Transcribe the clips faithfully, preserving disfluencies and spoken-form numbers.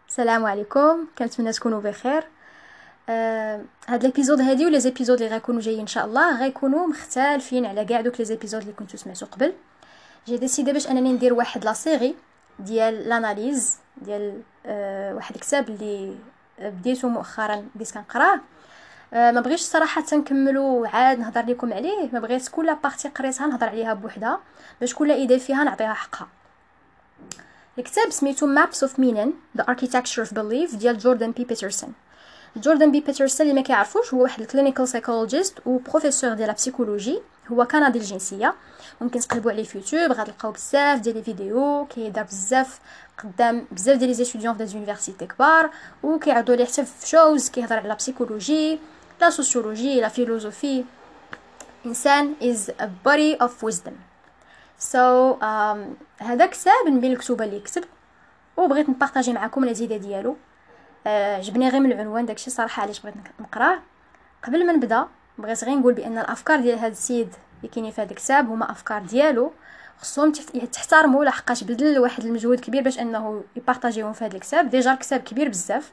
السلام عليكم، كنتمنى تكونوا بخير. آه، هاد ليبيزود هادي ولا زيبيزود اللي غيكونوا جايين ان شاء الله غيكونوا مختلفين على كاع دوك لي زيبيزود اللي كنتو سمعتو قبل. جي ديسيدي باش انني ندير واحد لا سيري ديال لاناليز ديال آه واحد الكتاب اللي بديتو مؤخرا، بديت كنقراه. آه ما بغيتش صراحه نكملو عاد نهضر لكم عليه، ما بغيت كل بارتي قريتها نهضر عليها بوحدها باش كل ايديه فيها نعطيها حقها. الكتاب سميتو Maps of Meaning The Architecture of Belief ديال جوردان بي بيترسون. جوردان بي بيترسون اللي ما كيعرفوش هو واحد الكلينيكال سايكولوجيست و بروفيسور ديال البسيكولوجي، هو كندي الجنسيه. ممكن تقلبوا عليه في يوتيوب غتلقاو بزاف ديال لي فيديو كيدار بزاف قدام بزاف ديال لي زيتوديون في زونيفرسيتي كبار، وكيعرضوا ليه حتى في شوز كيهضر على البسيكولوجي، لا سوسيولوجي، لا فيلوزوفي. انسان is a body of wisdom. سو so, um, هذا كتاب من بين الكتب اللي كتب وبغيت نبارطاجي معكم الازيده ديالو. عجبني uh, غير من العنوان، داكشي صراحه علاش بغيت نقراه. قبل ما نبدا بغيت غير نقول بان الافكار ديال هذا السيد اللي كاينين في هذا الكتاب هما افكار ديالو، خصهم تحترموا لحقاش بذل واحد المجهود كبير باش انه يبارطاجيهم في هذا الكتاب. ديجا الكتاب كبير بزاف.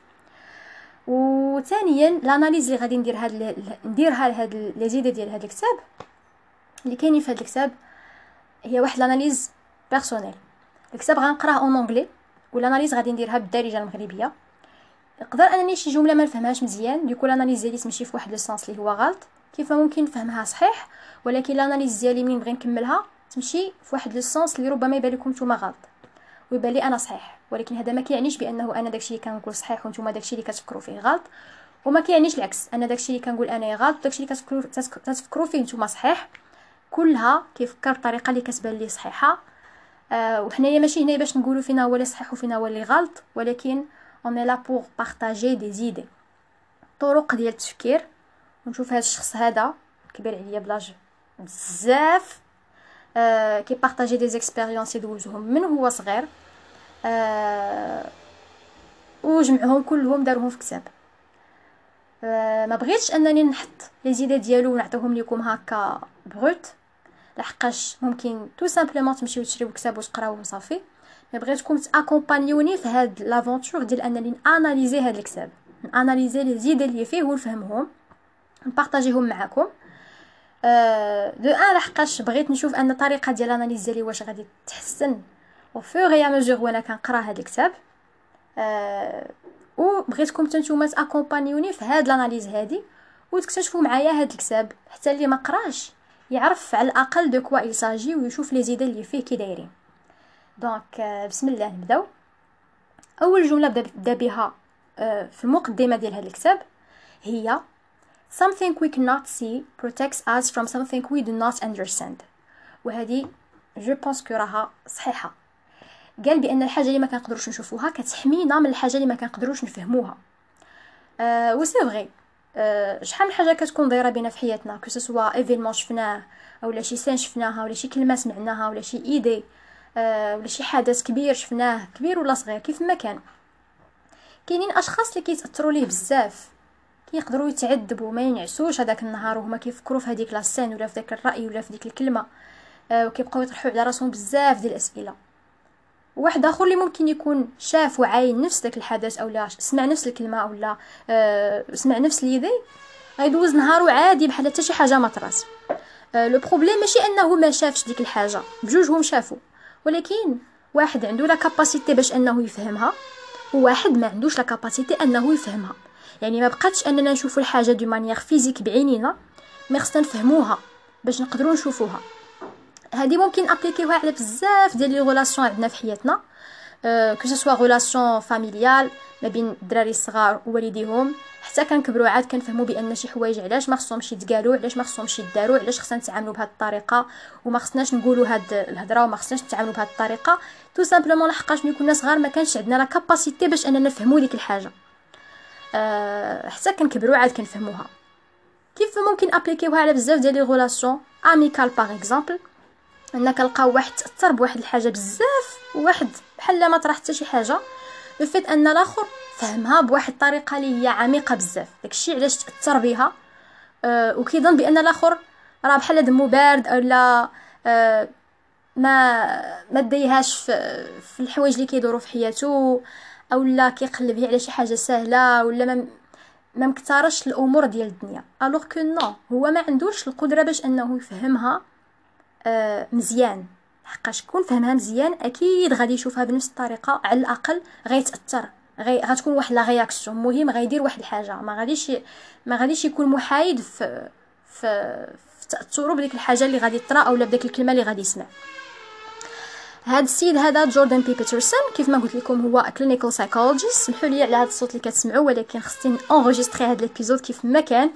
وثانيا الاناليز اللي غادي ندير هاد نديرها لهاد الازيده ديال هذا الكتاب اللي كاينين في هذا الكتاب هي واحد الاناليز بيرسونيل. الكتاب غنقراه اون انجلي والاناليز غادي نديرها بالدارجه المغربيه. نقدر انني شي جمله ما نفهمهاش مزيان، ديكو الاناليز ديالي تمشي في واحد السونس اللي هو غلط، كيف ممكن نفهمها صحيح، ولكن الاناليز ديالي منين نبغي نكملها تمشي في واحد السونس اللي ربما يبان لكم نتوما غلط ويبان لي انا صحيح، ولكن هذا ما كيعنيش بانه انا داكشي اللي كنقول صحيح وانتم داكشي اللي كتفكروا فيه غلط، وما كيعنيش العكس، انا داكشي اللي كنقول انا غلط وداكشي اللي كتفكروا تتفكروا فيه نتوما صحيح. كلها كيفكر بطريقه اللي كتبان لي صحيحه. آه وحنايا ماشي هنا باش نقولوا فينا هو اللي صحيح وفينا هو اللي غلط، ولكن اون لا بور بارطاجي دي زيدي، طرق ديال التفكير. ونشوف هذا الشخص هذا كبير عليا بلاج بزاف، آه كي بارطاجي دي زيكسبيريونس يدوزهم من هو صغير، آه وجمعهم كلهم دارهم في كتاب. آه ما بغيتش انني نحط لي زيدات ديالو ونعطيهم لكم هكا بروت، لحقاش ممكن تو سامبلومون تمشيو تشريو كتاب وتقراوه وصافي. ما بغيتكم تاكومبانيوني في هاد لافونتور ديال انني اناليزي هاد الكتاب، اناليزي لي زيد اللي فيه ونفهمهم نبارطاجيهم معكم. أه دو ان لحقاش بغيت نشوف ان الطريقه ديال الاناليز ديالي واش غادي تحسن او فور يا مزور وانا كنقرا هاد الكتاب. أه وبغيتكم نتوما تاكومبانيوني في هاد الاناليز هادي وتكتشفوا معايا هاد الكتاب، حتى اللي ما قراش يعرف على الاقل دو كوا يساجي ويشوف لي زيد اللي فيه كي دايرين. دونك بسم الله نبداو. اول جمله بدا بها في المقدمه ديال هذا الكتاب هي something we cannot see protects us from something we do not understand. وهذه جو بونس كو راها صحيحه. قال بان الحاجه اللي ما كنقدروش نشوفوها كتحمينا من الحاجه اللي ما كنقدروش نفهموها. أه و سي فغي. أه شحال من حاجه كتكون دايره بينا في حياتنا، كو سوا ايفينمون شفناه اولا شي سين شفناها ولا شي كلمه سمعناها ولا شي ايدي أه ولا شي حدث كبير شفناه كبير ولا صغير كيف ما كان. كاينين اشخاص اللي كيتاثروا ليه بزاف، كيقدروا يتعذبوا ما ينعسوش هذاك النهار وهما كيفكروا في هذيك لاسين ولا في داك الراي ولا في ديك الكلمه، أه وكيبقاو يطرحوا على راسهم بزاف ديال الاسئله. واحد اخر اللي ممكن يكون شاف وعاين نفس داك الحدث اولا سمع نفس الكلمه اولا أه سمع نفس ليدي، غيدوز نهارو عادي بحال حتى شي حاجه ما طرات. أه لو بروبليم ماشي انه ما شافش ديك الحاجه، بجوجهم شافوا، ولكن واحد عنده لا كاباسيتي باش انه يفهمها وواحد ما عندوش لا كاباسيتي انه يفهمها. يعني ما بقاتش اننا نشوفوا الحاجه دو مانيير فيزيك بعينينا، مي خصنا نفهموها باش نقدروا نشوفوها. هذه ممكن ابليكيوها على بزاف ديال لي ريلاسيون عندنا في حياتنا، أه كو سوا ريلاسيون فاميليال ما بين الدراري الصغار ووالديهم، حتى كنكبروا عاد كنفهموا بان شي حوايج علاش ما خصهمش يتقالوا، علاش ما خصهمش يداروا، علاش خصنا نتعاملوا بهذه الطريقه وما خصناش نقولوا هاد الهضره وما خصناش نتعاملوا بهذه الطريقه. تو سامبلومون لحقاش ملي كنا صغار ما كانش عندنا لا كاباسيتي باش اننا نفهموا ديك الحاجه، أه حتى كنكبروا عاد كنفهموها. كيف ممكن ابليكيوها على بزاف ديال لي ريلاسيون اميكال باغ اكزامبل، انا كنلقاو واحد تاثر بواحد الحاجه بزاف وواحد بحال ما طرا حتى شي حاجه، بفيت ان الاخر فهمها بواحد الطريقه اللي هي عميقه بزاف، داكشي علاش تاثر بها. أه وكيظن بان الاخر راه بحال دمو بارد اولا أه ما ما ديهاش في, في الحوايج اللي كيدوروا في حياته، اولا كيقلب على شي حاجه سهله ولا ما ما مكترش الامور ديال الدنيا. الوغ كو نو، هو ما عندوش القدره باش انه يفهمها آه مزيان، حقاش كون فهمها مزيان اكيد غادي يشوفها بنفس الطريقه، على الاقل غيتاثر، غي غتكون واحد لا رياكسيون، المهم غيدير واحد الحاجه، ما غاديش ما غاديش يكون محايد في في, في تاثره بديك الحاجه اللي غادي تطرا اولا بديك الكلمه اللي غادي يسمع. هاد السيد هذا جوردن بي بيترسون كيف ما قلت لكم هو كلينيكال سايكولوجيست. سمحوا لي على هذا الصوت اللي كتسمعوا، ولكن خصني انغيستري هذا الابيزود كيف ما كان.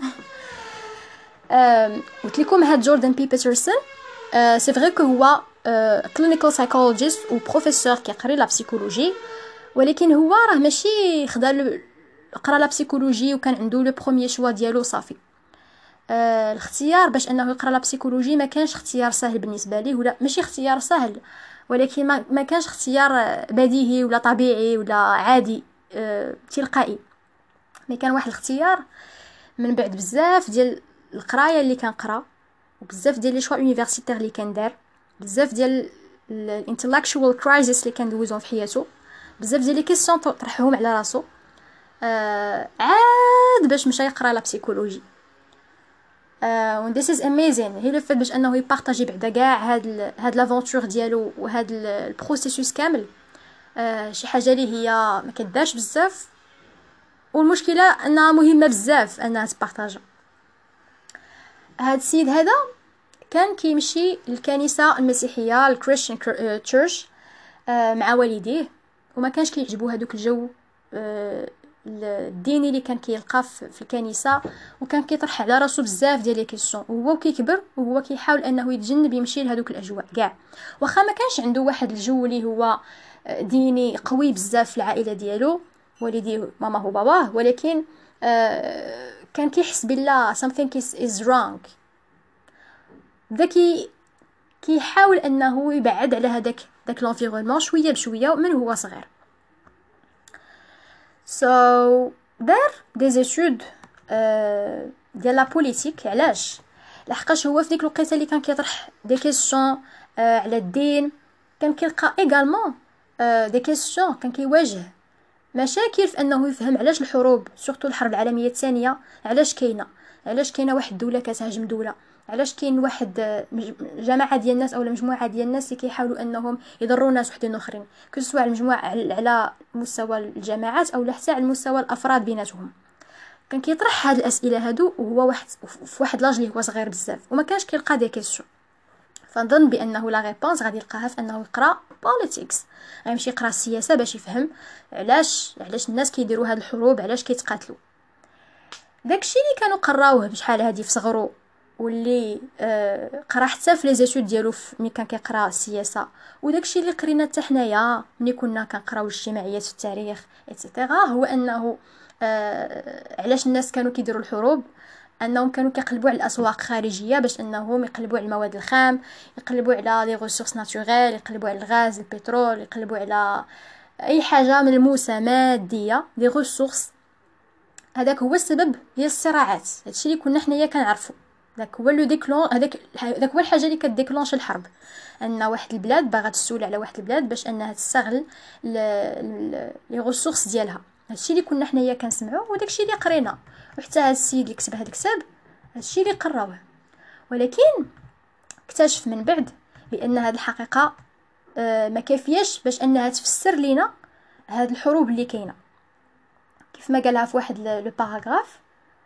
قلت لكم هاد جوردن بي بيترسون سي فري كو هو كلينيكال سايكولوجيست و بروفيسور كيقري لا بسيكولوجي، ولكن هو راه ماشي خدا قرا لا بسيكولوجي وكان عنده لو بروميير شوا ديالو صافي. آه الاختيار باش انه يقرا لا بسيكولوجي ما كانش اختيار سهل بالنسبه ليه، ولا ماشي اختيار سهل، ولكن ما, ما كانش اختيار بديهي ولا طبيعي ولا عادي آه تلقائي، مي كان واحد الاختيار من بعد بزاف ديال القرايه اللي كنقرا وبزاف ديال لي شوا يونيفرسيتير اللي كندار، بزاف ديال الانتلكشوال كرايسيس اللي كندوزهم في حياته، بزاف ديال لي كيسيون طرحهم على راسو، آه عاد باش مشى يقرا لا بسيكولوجي. و this is amazing. هي لو فات باش انه يبارطاجي بعدا كاع هاد ال هاد لافونتور ديالو وهاد البروسيسوس كامل، آه شي حاجه اللي هي ما كدارش بزاف، والمشكله انها مهمه بزاف انها تبارطاجا. هاد السيد هذا كان كيمشي للكنيسه المسيحيه الكريستيان تشيرش مع والديه، وما كانش كيعجبو هذوك الجو الديني اللي كان كيلقى في الكنيسه، وكان كيطرح على راسو بزاف ديال لي كيسيون، وهو كيكبر وهو كيحاول انه يتجنب يمشي لهذوك الاجواء كاع، واخا ما كانش عنده واحد الجو اللي هو ديني قوي بزاف في العائله ديالو، والديه ماما هو باباه، ولكن آه كان كيحس بالله something is wrong. ذكي كيحاول انه يبعد على هذاك داك لونفيرونمون شويه بشويه من هو صغير. so دار دي زيتود ديال لا بوليتيك. علاش؟ لحقاش هو في ديك الوقيته اللي كان كيطرح دي كيسيون على الدين، كان كيلقى ايغالمون دي كيسيون، كان كيواجه مشاكل في انه يفهم علاش الحروب سورتو الحرب العالميه الثانيه علاش كاينه، علاش كاينه واحد الدوله كتهاجم دوله، علاش كاين واحد جماعه ديال الناس اولا مجموعه ديال الناس اللي كيحاولوا انهم يضروا ناس وحدين اخرين، كسوا على المجموعه على مستوى الجماعات او حتى على مستوى الافراد بيناتهم. كان كيطرح هاد الاسئله هادو وهو واحد في واحد لاج اللي هو صغير بزاف، وما كانش كيلقى دي كيسيون. فنظن بانه لا ريبونس غادي يلقاها في انه يقرا بوليتيكس، غيمشي يقرا السياسه باش يفهم علاش علاش الناس كيديروا هاد الحروب، علاش كيتقاتلوا. داكشي اللي كانوا قراوه بشحال هادي في صغرو، واللي آه قرا حتى في لي زيتود ديالو ملي كان كيقرا السياسه، وداكشي اللي قرينا حتى حنايا ملي كنا كنقراو الاجتماعيات في التاريخ ايتترا، هو انه آه علاش الناس كانوا كيديروا الحروب، انهم كانوا كيقلبوا على الاسواق الخارجيه باش انهم يقلبوا على المواد الخام، يقلبوا على لي ريسورس ناتوريل، يقلبوا على الغاز البترول، يقلبوا على اي حاجه ملموسه ماديه لي ريسورس. هذاك هو السبب ديال الصراعات، هادشي اللي كنا حنايا كنعرفوا، داك هو لو ديكلون، هذاك داك هو الحاجه اللي كديكلونش الحرب، ان واحد البلاد باغا تسول على واحد البلاد باش انها تستغل لي ريسورس ديالها. هادشي اللي كنا حنايا كنسمعوا وداكشي اللي قرينا، وحتى هاد السيد اللي كتب هاد الكتاب هادشي اللي قراوه. ولكن اكتشف من بعد بان هاد الحقيقه آه ما كافياش باش انها تفسر لينا هاد الحروب اللي كاينه. كيف ما قالها في واحد لو باراغراف: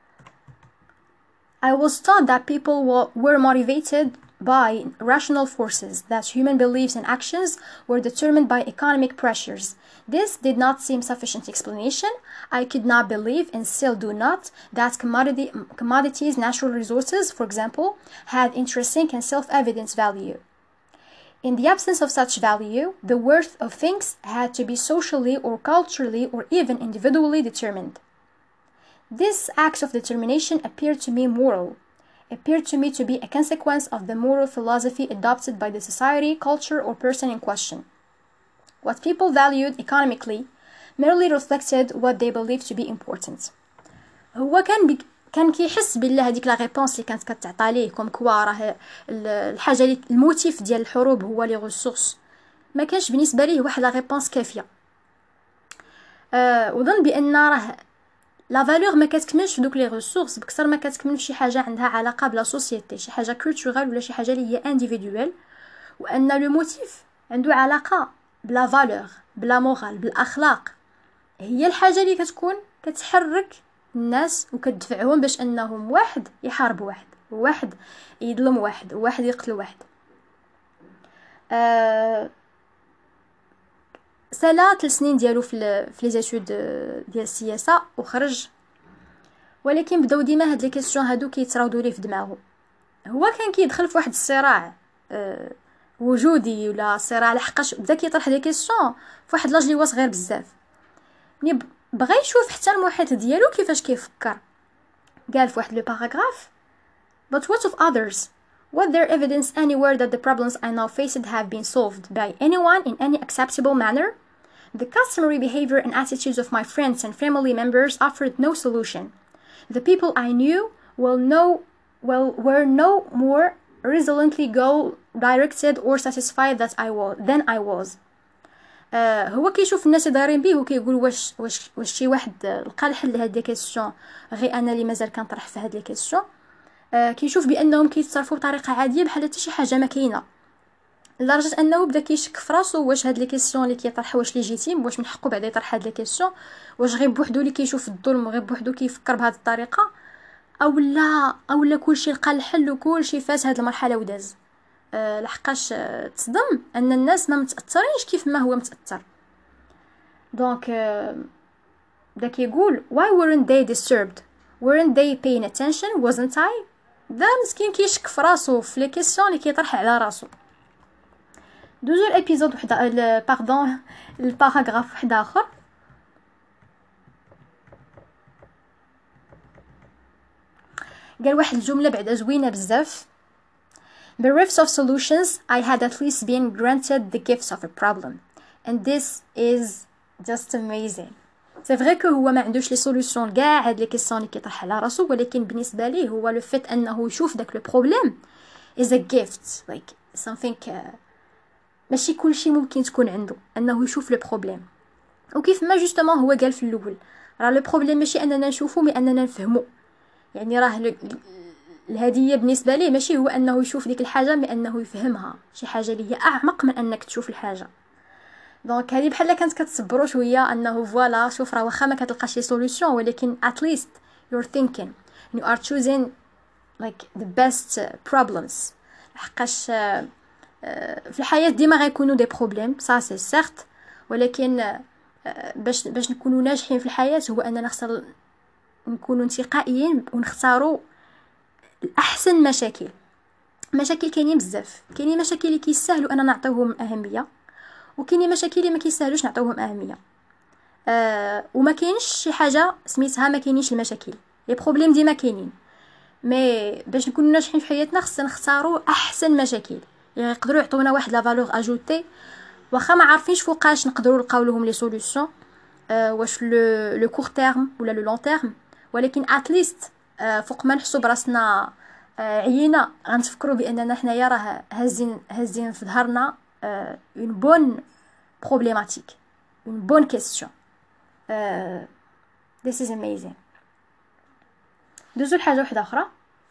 I was taught that people were motivated by rational forces, that human beliefs and actions were determined by economic pressures. This did not seem sufficient explanation. I could not believe, and still do not, that commodity, commodities, natural resources, for example, had intrinsic and self-evident value. In the absence of such value, the worth of things had to be socially or culturally or even individually determined. This act of determination appeared to me moral, appeared to me to be a consequence of the moral philosophy adopted by the society, culture, or person in question. What people valued economically merely reflected what they believed to be important. هو كان بي كان كيحس بالله هذيك لا ريبونس اللي كانت كتعطى ليه كوم كوا راه الحاجه اللي الموتيف ديال الحروب هو لي ريسورس، ما كانش بالنسبه ليه واحد لا ريبونس كافيه. أه وظن بان راه لا فالور ما كتكملش في دوك لي ريسورس بكثر ما كتكمل في شي حاجه عندها علاقه بلا سوسيتي، شي حاجه كولتورال ولا شي حاجه اللي هي انديفيدوال، وان لو موتيف عنده علاقه بلا فالور بلا مورال بالاخلاق، هي الحاجه اللي كتكون كتحرك الناس وكتدفعهم باش انهم واحد يحارب واحد، وواحد يظلم واحد، وواحد يقتل واحد. أه سالا ثلاث سنين ديالو في في لي زيتود ديال السياسه وخرج، ولكن بداو ديما هاد لي كيسيون هادو كيتراودوا ليه في دماغه. هو كان كيدخل في واحد الصراع أه وجودي ولا صراع، لحقاش بدا كيطرح دي كيسيون في واحد لاج لي هو صغير بزاف، ملي بغى يشوف حتى المحيط ديالو كيفاش كيفكر. قال في واحد لو باراغراف: But what of others? Was there evidence anywhere that the problems I now faced have been solved by anyone in any acceptable manner? The customary behavior and attitudes of my friends and family members offered no solution. The people I knew will know, well, were no more resolutely goal-directed or satisfied that I was, than I was. آه هو كيشوف الناس دايرين بيه وكيقول واش واش واش شي واحد لقى الحل لهاد لي كيسيون غير انا اللي مازال كنطرح في هاد لي كيسيون. آه كيشوف بانهم كيتصرفوا بطريقه عاديه بحال حتى شي حاجه ما كاينه، لدرجه انه بدا كيشك في راسو واش هاد لي كيسيون اللي كيطرح واش ليجيتيم، واش من حقه بعدا يطرح هاد لي كيسيون، واش غير بوحدو اللي كيشوف الظلم وغير بوحدو كيفكر بهاد الطريقه، او لا او لا كلشي لقى الحل وكلشي فات هاد المرحله وداز. أه لحقاش أه تصدم ان الناس ما متاثرينش كيف ما هو متاثر. دونك أه بدا كيقول: why weren't they disturbed, weren't they paying attention, wasn't I. دا مسكين كيشك في راسو في لي كيسيون اللي كيطرح على راسو. دوزو الابيزود وحده باردون الباراغراف واحد اخر. قال واحد الجمله بعدا زوينه بزاف: Bereft of solutions, I had at least been granted the gifts of a problem. And this is just amazing. C'est vrai que هو ما عندوش لي سوليوشن كاع هاد لي كيسيون اللي كيطرح على راسو، ولكن بالنسبه ليه هو لو فيت انه يشوف داك لو بروبليم is a gift, like something uh, ماشي كلشي ممكن تكون عنده انه يشوف لو بروبليم. وكيف ما جوستومون هو قال في الاول، راه لو بروبليم ماشي اننا نشوفو مي اننا نفهمو. يعني راه الهديه بالنسبه ليه ماشي هو انه يشوف ديك الحاجه مي انه يفهمها، شي حاجه اللي هي اعمق من انك تشوف الحاجه. دونك هذه بحال كانت كتصبروا شويه انه فوالا شوف راه واخا ما كتلقاش لي سوليوشن، ولكن at least you're thinking you are choosing like the best problems. حقاش في الحياه ديما غيكونوا دي بروبليم سا سي سيرت، ولكن باش باش نكونوا ناجحين في الحياه هو اننا خصنا نكونوا انتقائيين ونختاروا الاحسن. مشاكل مشاكل كاينين بزاف، كاينين مشاكل اللي كيسهلوا اننا نعطيوهم اهميه، وكاينين مشاكل اللي ما كيسهلوش نعطيوهم اهميه. آه وما كاينش شي حاجه سميتها ما كاينينش المشاكل، لي بروبليم ديما كاينين، مي باش نكونوا ناجحين في حياتنا خصنا نختاروا احسن مشاكل اللي يقدروا يعطونا واحد لا فالور اجوتي، واخا ما عارفينش فوقاش نقدروا نلقاو لهم لي سوليوشن، آه واش لو لو كور تيرم ولا لو لون تيرم، ولكن اتليست آه فوق ما نحسوا براسنا آه عيينا غنتفكروا باننا حنايا راه هازين هازين في ظهرنا اون بون بروبليماتيك، اون بون كيسيون. this is amazing. دوزو لحاجه واحده اخرى.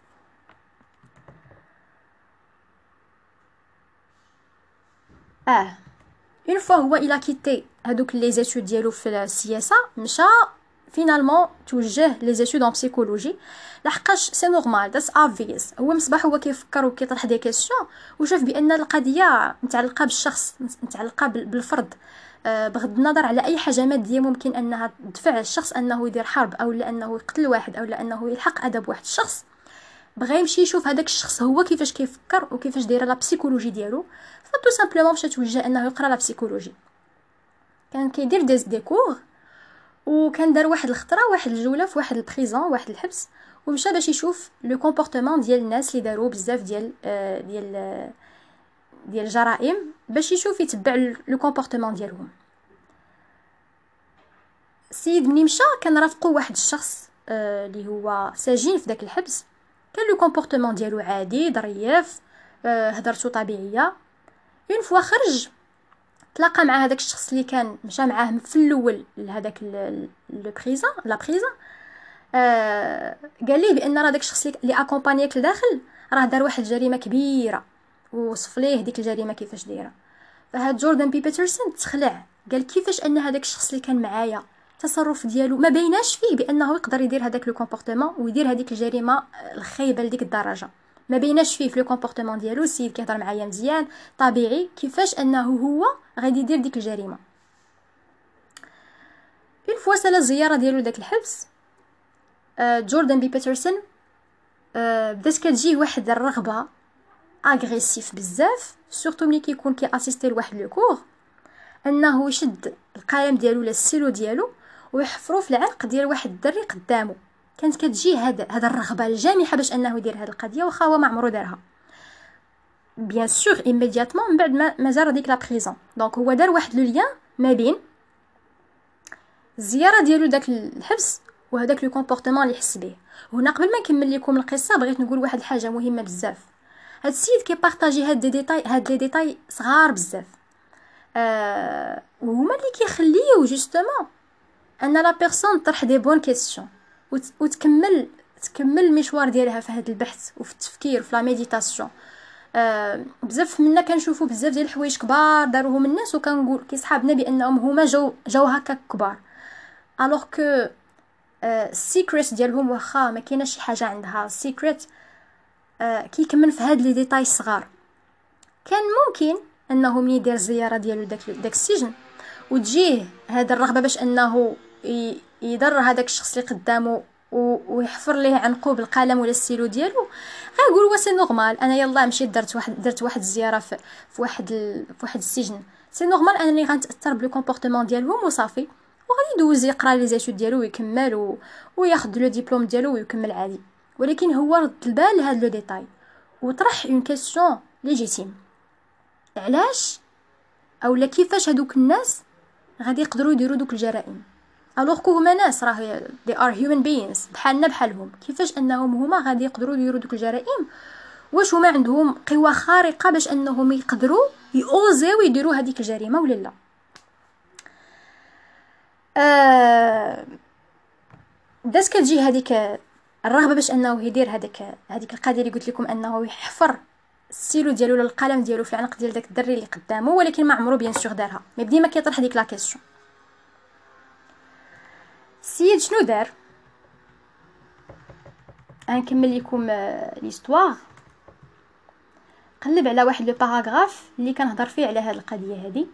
اه اون فوا هو الى كيتي هادوك لي زيتود ديالو في السياسه، مشى فينالمون توجه لي زيتود ان بسيكولوجي، لحقاش سي نورمال داس اوبفيوس. هو مصباح هو كيفكر وكيطرح دي كيسيون وشاف بان القضيه متعلقه بالشخص، متعلقه بالفرد، أه بغض النظر على اي حاجه ماديه ممكن انها تدفع الشخص انه يدير حرب او لانه يقتل واحد او لانه يلحق ادب واحد الشخص. بغى يمشي يشوف هذاك الشخص هو كيفاش كيفكر وكيفاش دايره لا بسيكولوجي ديالو، فطو سامبلومون مشى توجه انه يقرا لا بسيكولوجي. كان كيدير دي دي كور، وكان دار واحد الخطره واحد الجوله في واحد البريزون واحد الحبس، ومشى باش يشوف لو كومبورتمون ديال الناس اللي داروا بزاف ديال آه ديال آه ديال الجرائم، باش يشوف يتبع لو كومبورتمون ديالهم. السيد ملي مشى كان رافقو واحد الشخص اللي آه هو سجين في داك الحبس، كان لو كومبورتمون ديالو عادي ظريف، آه هضرته طبيعيه. اون فوا خرج تلاقى مع هذاك الشخص اللي كان مشى معاه في الاول لهذاك لو بريزون لا بريزون، آه قال ليه بان راه داك الشخص اللي اكومبانياك لداخل راه دار واحد الجريمه كبيره، ووصف ليه ديك الجريمه كيفاش دايره. فهاد جوردن بي بيترسون تخلع، قال كيفاش ان هذاك الشخص اللي كان معايا التصرف ديالو ما بيناش فيه بانه يقدر يدير هذاك لو كومبورتمون ويدير هذيك الجريمه الخايبه لديك الدرجه، ما بيناش فيه في لو كومبورتمون ديالو. السيد كيهضر معايا مزيان طبيعي، كيفاش انه هو غادي يدير ديك الجريمه. اون فوا سالا الزياره ديالو داك الحبس، آه جوردن بي بيترسون آه بدات كتجيه واحد الرغبه اغريسيف بزاف، سورتو ملي كيكون كي اسيستي لواحد لو كور، انه يشد القلم ديالو ولا السيلو ديالو ويحفرو في العنق ديال واحد الدري قدامه. كانت كتجيه هذا هذا الرغبه الجامحه باش انه يدير هذه القضيه، واخا هو ما عمرو دارها. بيان سور ايميدياتمون من بعد ما, ما زار ديك لا بريزون، دونك هو دار واحد لو ليان ما بين الزياره ديالو داك الحبس وهذاك لو كومبورتمون اللي حس به. هنا قبل ما نكمل لكم القصه بغيت نقول واحد الحاجه مهمه بزاف. هاد السيد كيبارطاجي هاد دي ديتاي هاد لي ديتاي صغار بزاف، آه وهما اللي كيخليو جوستومون ان لا بيرسون طرح دي بون كيسيون وتكمل تكمل المشوار ديالها في هذا البحث وفي التفكير وفي لا ميديتاسيون. آه بزاف منا كنشوفوا بزاف ديال الحوايج كبار داروهم الناس وكنقول كيصحابنا بانهم هما جاو جاو هكا كبار، الوغ كو السيكريت ديالهم واخا ما كايناش شي حاجه عندها سيكريت، آه كيكمن في هاد لي ديتاي الصغار. كان ممكن انه من يدير الزياره ديالو داك داك السجن وتجيه هذا الرغبه باش انه يضر هذاك الشخص اللي قدامه ويحفر ليه عنقو بالقلم ولا السيلو ديالو، غيقول وا سي نورمال انا يلا مشيت درت واحد درت واحد الزياره في, في واحد ال... في واحد السجن، سي نورمال انني غنتاثر بلو كومبورتمون ديالهم وصافي، وغادي يدوز يقرا لي زيتود ديالو ويكمل و... وياخذ لو ديبلوم ديالو ويكمل عادي. ولكن هو رد البال لهاد لو ديتاي وطرح اون كيسيون ليجيتيم، علاش اولا كيفاش هادوك الناس غادي يقدروا يديروا دوك الجرائم الوغ كو هما ناس راه they are human beings بحالنا بحالهم، كيفاش انهم هما غادي يقدروا يديروا دوك الجرائم؟ واش هما عندهم قوه خارقه باش انهم يقدروا يوزيو يديروا هذيك الجريمه ولا لا؟ آه داس كتجي هذيك الرغبه باش انه يدير هذيك هذيك القضيه اللي قلت لكم، انه يحفر السيلو ديالو ولا القلم ديالو في العنق ديال داك الدري اللي قدامه، ولكن ما عمرو بيان سور دارها. مي بديما كيطرح ديك لا كيسيون. السيد شنو دار؟ غنكمل لكم ليستوار. قلب على واحد لو باراغراف اللي كنهضر فيه على هاد القضيه هذه.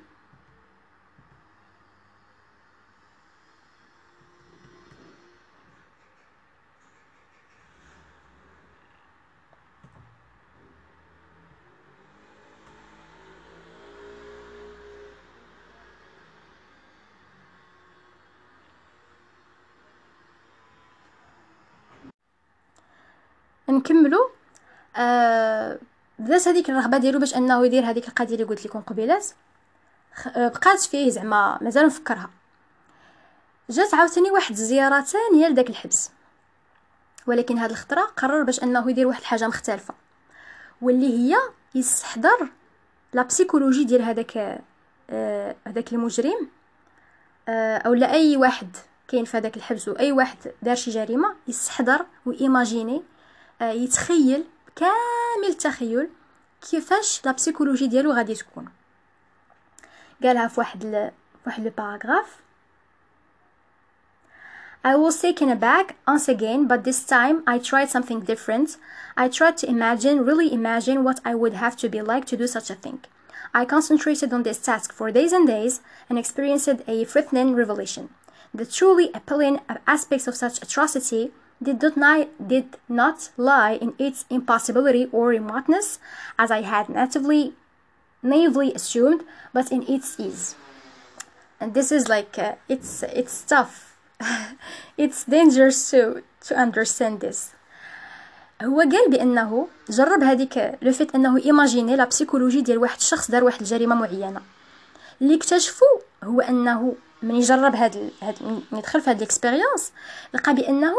نكملوا. آه بدات هذيك الرغبه ديالو باش انه يدير هذيك القضيه اللي قلت لكم قبيلات، بقات فيه زعما مازال نفكرها. جات عاوتاني واحد الزياره ثانيه لداك الحبس، ولكن هاد الخطره قرر باش انه يدير واحد الحاجه مختلفه، واللي هي يستحضر لا بسيكولوجي ديال هذاك آه هذاك المجرم، آه او لا اي واحد كاين في هذاك الحبس واي واحد دار شي جريمه، يستحضر وايماجيني، آه يتخيل كامل التخيل كيفاش لا بسيكولوجي ديالو غادي تكون. قالها في واحد ل... واحد لو باراغراف. I was taken aback once again, but this time I tried something different. I tried to imagine, really imagine what I would have to be like to do such a thing. I concentrated on this task for days and days and experienced a frightening revelation. The truly appalling aspects of such atrocity did not, did not lie in its impossibility or remoteness, as I had natively, naively assumed, but in its ease. And this is like, uh, it's, it's tough. It's dangerous to, to understand this. هو قال بانه جرب هذيك لو فيت انه ايماجيني لا بسيكولوجي ديال واحد الشخص دار واحد الجريمه معينه. اللي اكتشفوا هو انه من يجرب هاد هاد من يدخل في هاد الاكسبيريونس لقى بانه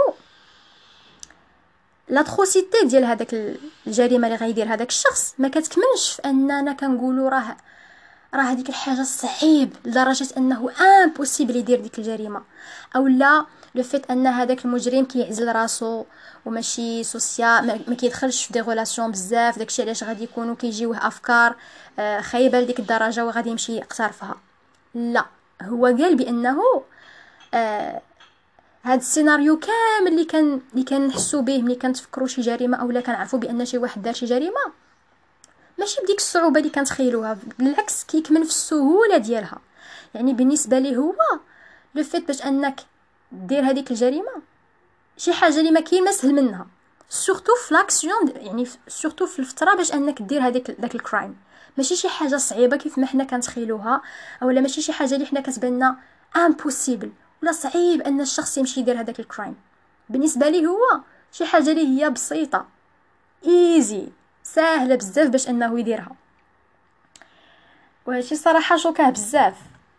لاتروسيتي ديال هذاك الجريمه اللي غيدير هذاك الشخص ما كتكمنش في اننا كنقولوا راه راه هذيك الحاجه صعيب لدرجه انه امبوسيبل يدير ديك الجريمه، او لا لو فيت ان هذاك المجرم كيعزل راسو وماشي سوسيال، ما ما كيدخلش في دي غولاسيون بزاف، داكشي علاش غادي يكونوا كيجيوه افكار آه، خايبه لديك الدرجه وغادي يمشي يقترفها. لا، هو قال بانه آه هاد السيناريو كامل اللي كان اللي كنحسوا به ملي كنتفكروا شي جريمه اولا كنعرفوا بان شي واحد دار شي جريمه، ماشي بديك الصعوبه اللي كنتخيلوها، بالعكس كيكمن في السهوله ديالها. يعني بالنسبه ليه هو لو فيت باش انك دير هذيك الجريمه شي حاجه اللي ما كاين ما سهل منها، سورتو في لاكسيون، يعني سورتو في الفتره باش انك دير هذيك داك الكرايم، ماشي شي حاجه صعيبه كيف ما حنا كنتخيلوها، اولا ماشي شي حاجه اللي حنا كتباننا امبوسيبل ولا صعيب ان الشخص يمشي يدير هذاك الكرايم. بالنسبه ليه هو شي حاجه اللي هي بسيطه، ايزي، ساهله بزاف باش انه يديرها. وهادشي صراحه شوكاه بزاف.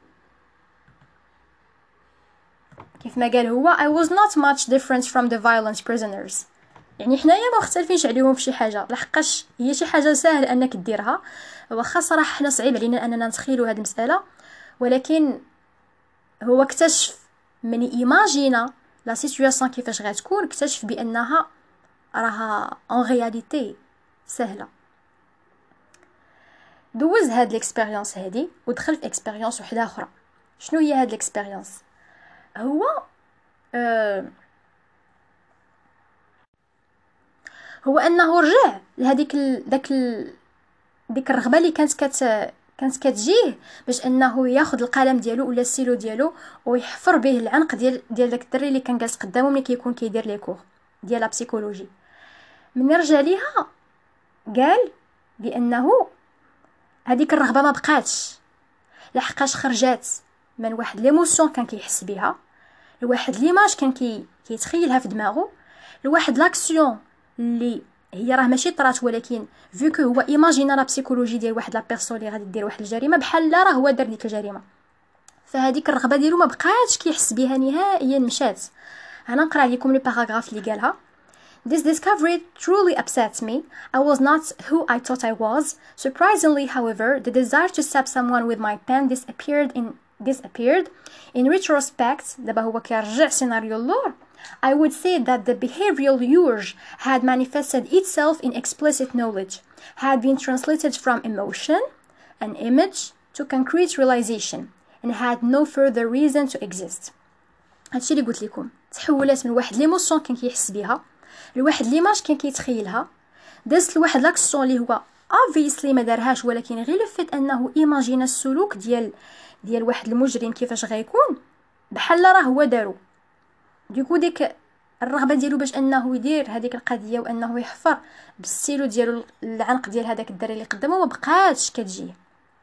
كيف ما قال هو I was not much different from the violent prisoners، يعني حنايا ما مختلفينش عليهم في شي حاجه، لحقاش هي شي حاجه ساهل انك ديرها، واخا صراحه حنا صعيب علينا اننا نتخيلوا هذه المساله، ولكن هو اكتشف من ايماجينا لا سيتوياسيون كيفاش غتكون، اكتشف بانها راها ان رياليتي سهله. دوز هاد ليكسبيريونس هادي ودخل في اكسبيريونس وحده اخرى. شنو هي هاد ليكسبيريونس؟ هو آه هو انه رجع لهذيك ال... داك ال... ديك الرغبه اللي كانت كت كانت كتجيه باش انه ياخذ القلم ديالو ولا السيلو ديالو ويحفر به العنق ديال ديال داك الدري اللي كان جالس قدامه ملي كيكون كيدير لي كور ديال لا بسيكولوجي. من رجع ليها قال بانه هذيك الرغبه ما بقاتش، لحقاش خرجات من واحد ليموسيون كان كيحس بها، لواحد ليماج كان كي كيتخيلها في دماغه، لواحد لاكسيون اللي هي راه ماشي طرات، ولكن فيو كو هو ايماجينا لا بسيكولوجي ديال واحد لا بيرسون اللي غادي دير واحد الجريمه بحال لا راه هو دار ديك الجريمه، فهذيك الرغبه ديالو ما بقاتش كيحس بها نهائيا، مشات. انا نقرا لكم لي باراغراف اللي قالها. This discovery truly upsets me. I was not who I thought I was. Surprisingly, however, the desire to stab someone with my pen disappeared in disappeared. In retrospect, دابا هو كيرجع سيناريو اللور. I would say that the behavioral urge had manifested itself in explicit knowledge, had been translated from emotion, an image, to concrete realization, and had no further reason to exist. هادشي اللي قلت لكم، تحولات من واحد ليموسيون كان كيحس بها لواحد ليماج كان كيتخيلها، دازت لواحد لاكسيون اللي هو obviously ما دارهاش، ولكن غير لفت انه ايماجينا السلوك ديال ديال واحد المجرم كيفاش غيكون بحال راه هو دارو. ديكو ديك الرغبه ديالو باش انه يدير هذيك القضيه وانه يحفر بالسيلو ديالو العنق ديال هذاك الدري اللي قدامه ما بقاتش كتجيه.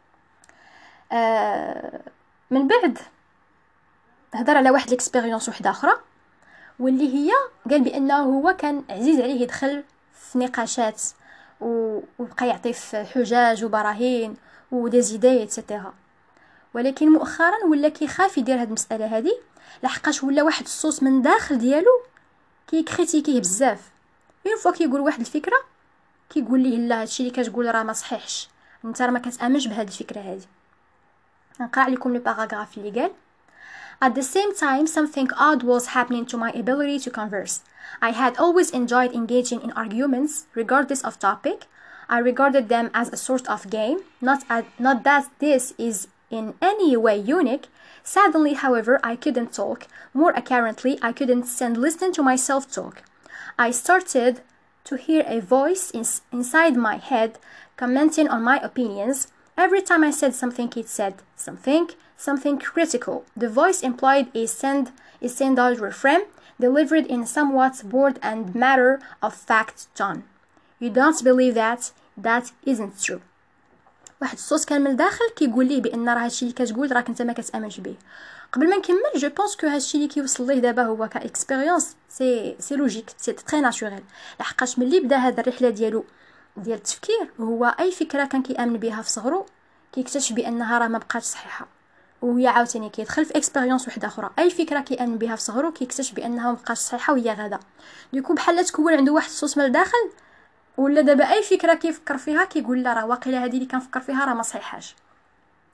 آه من بعد هضر على واحد الاكسبيريونس وحده اخرى، واللي هي قال بانه هو كان عزيز عليه يدخل في نقاشات وبقى يعطي في حجاج وبراهين ودي زيداي ايتترا، ولكن مؤخرا ولا كيخاف يدير هاد المساله هادي، لحقاش ولا واحد الصوت من داخل ديالو كيكريتيكيه بزاف. اون فوا كيقول واحد الفكره كيقول ليه لا هادشي اللي كتقول راه ما صحيحش، انت راه ما كتامنش بهاد الفكره هادي. نقرا لكم لي باراغراف اللي قال. At the same time, something odd was happening to my ability to converse. I had always enjoyed engaging in arguments, regardless of topic. I regarded them as a sort of game, not, as, not that this is in any way unique. Suddenly, however, I couldn't talk. More accurately, I couldn't stand listening to myself talk. I started to hear a voice in, inside my head commenting on my opinions. Every time I said something, it said something, something critical. The voice implied a send a standard refrain delivered in somewhat bored and matter of fact tone. You don't believe that? That isn't true. واحد الصوت كان من الداخل كيقول ليه بان راه هادشي اللي كتقول راك انت ما كتامنش به. قبل ما نكمل جو بونس كو هادشي اللي كيوصل ليه دابا هو كاكسبيريونس سي سي لوجيك، سي تري ناتوريل، لحقاش ملي بدا هاد الرحله ديالو ديال التفكير هو اي فكره كان كيامن بها في صغرو كيكتشف بانها راه ما بقاتش صحيحه، وهي عاوتاني كيدخل في اكسبيريونس وحده اخرى اي فكره كيامن بها في صغرو كيكتشف بانها ما بقاتش صحيحه وهي غدا. ديكو بحال تكون عنده واحد الصوت من الداخل، ولا دابا اي فكره كيفكر فيها كيقول لا راه واقيلا هذه اللي كنفكر فيها راه ما صحيحاش.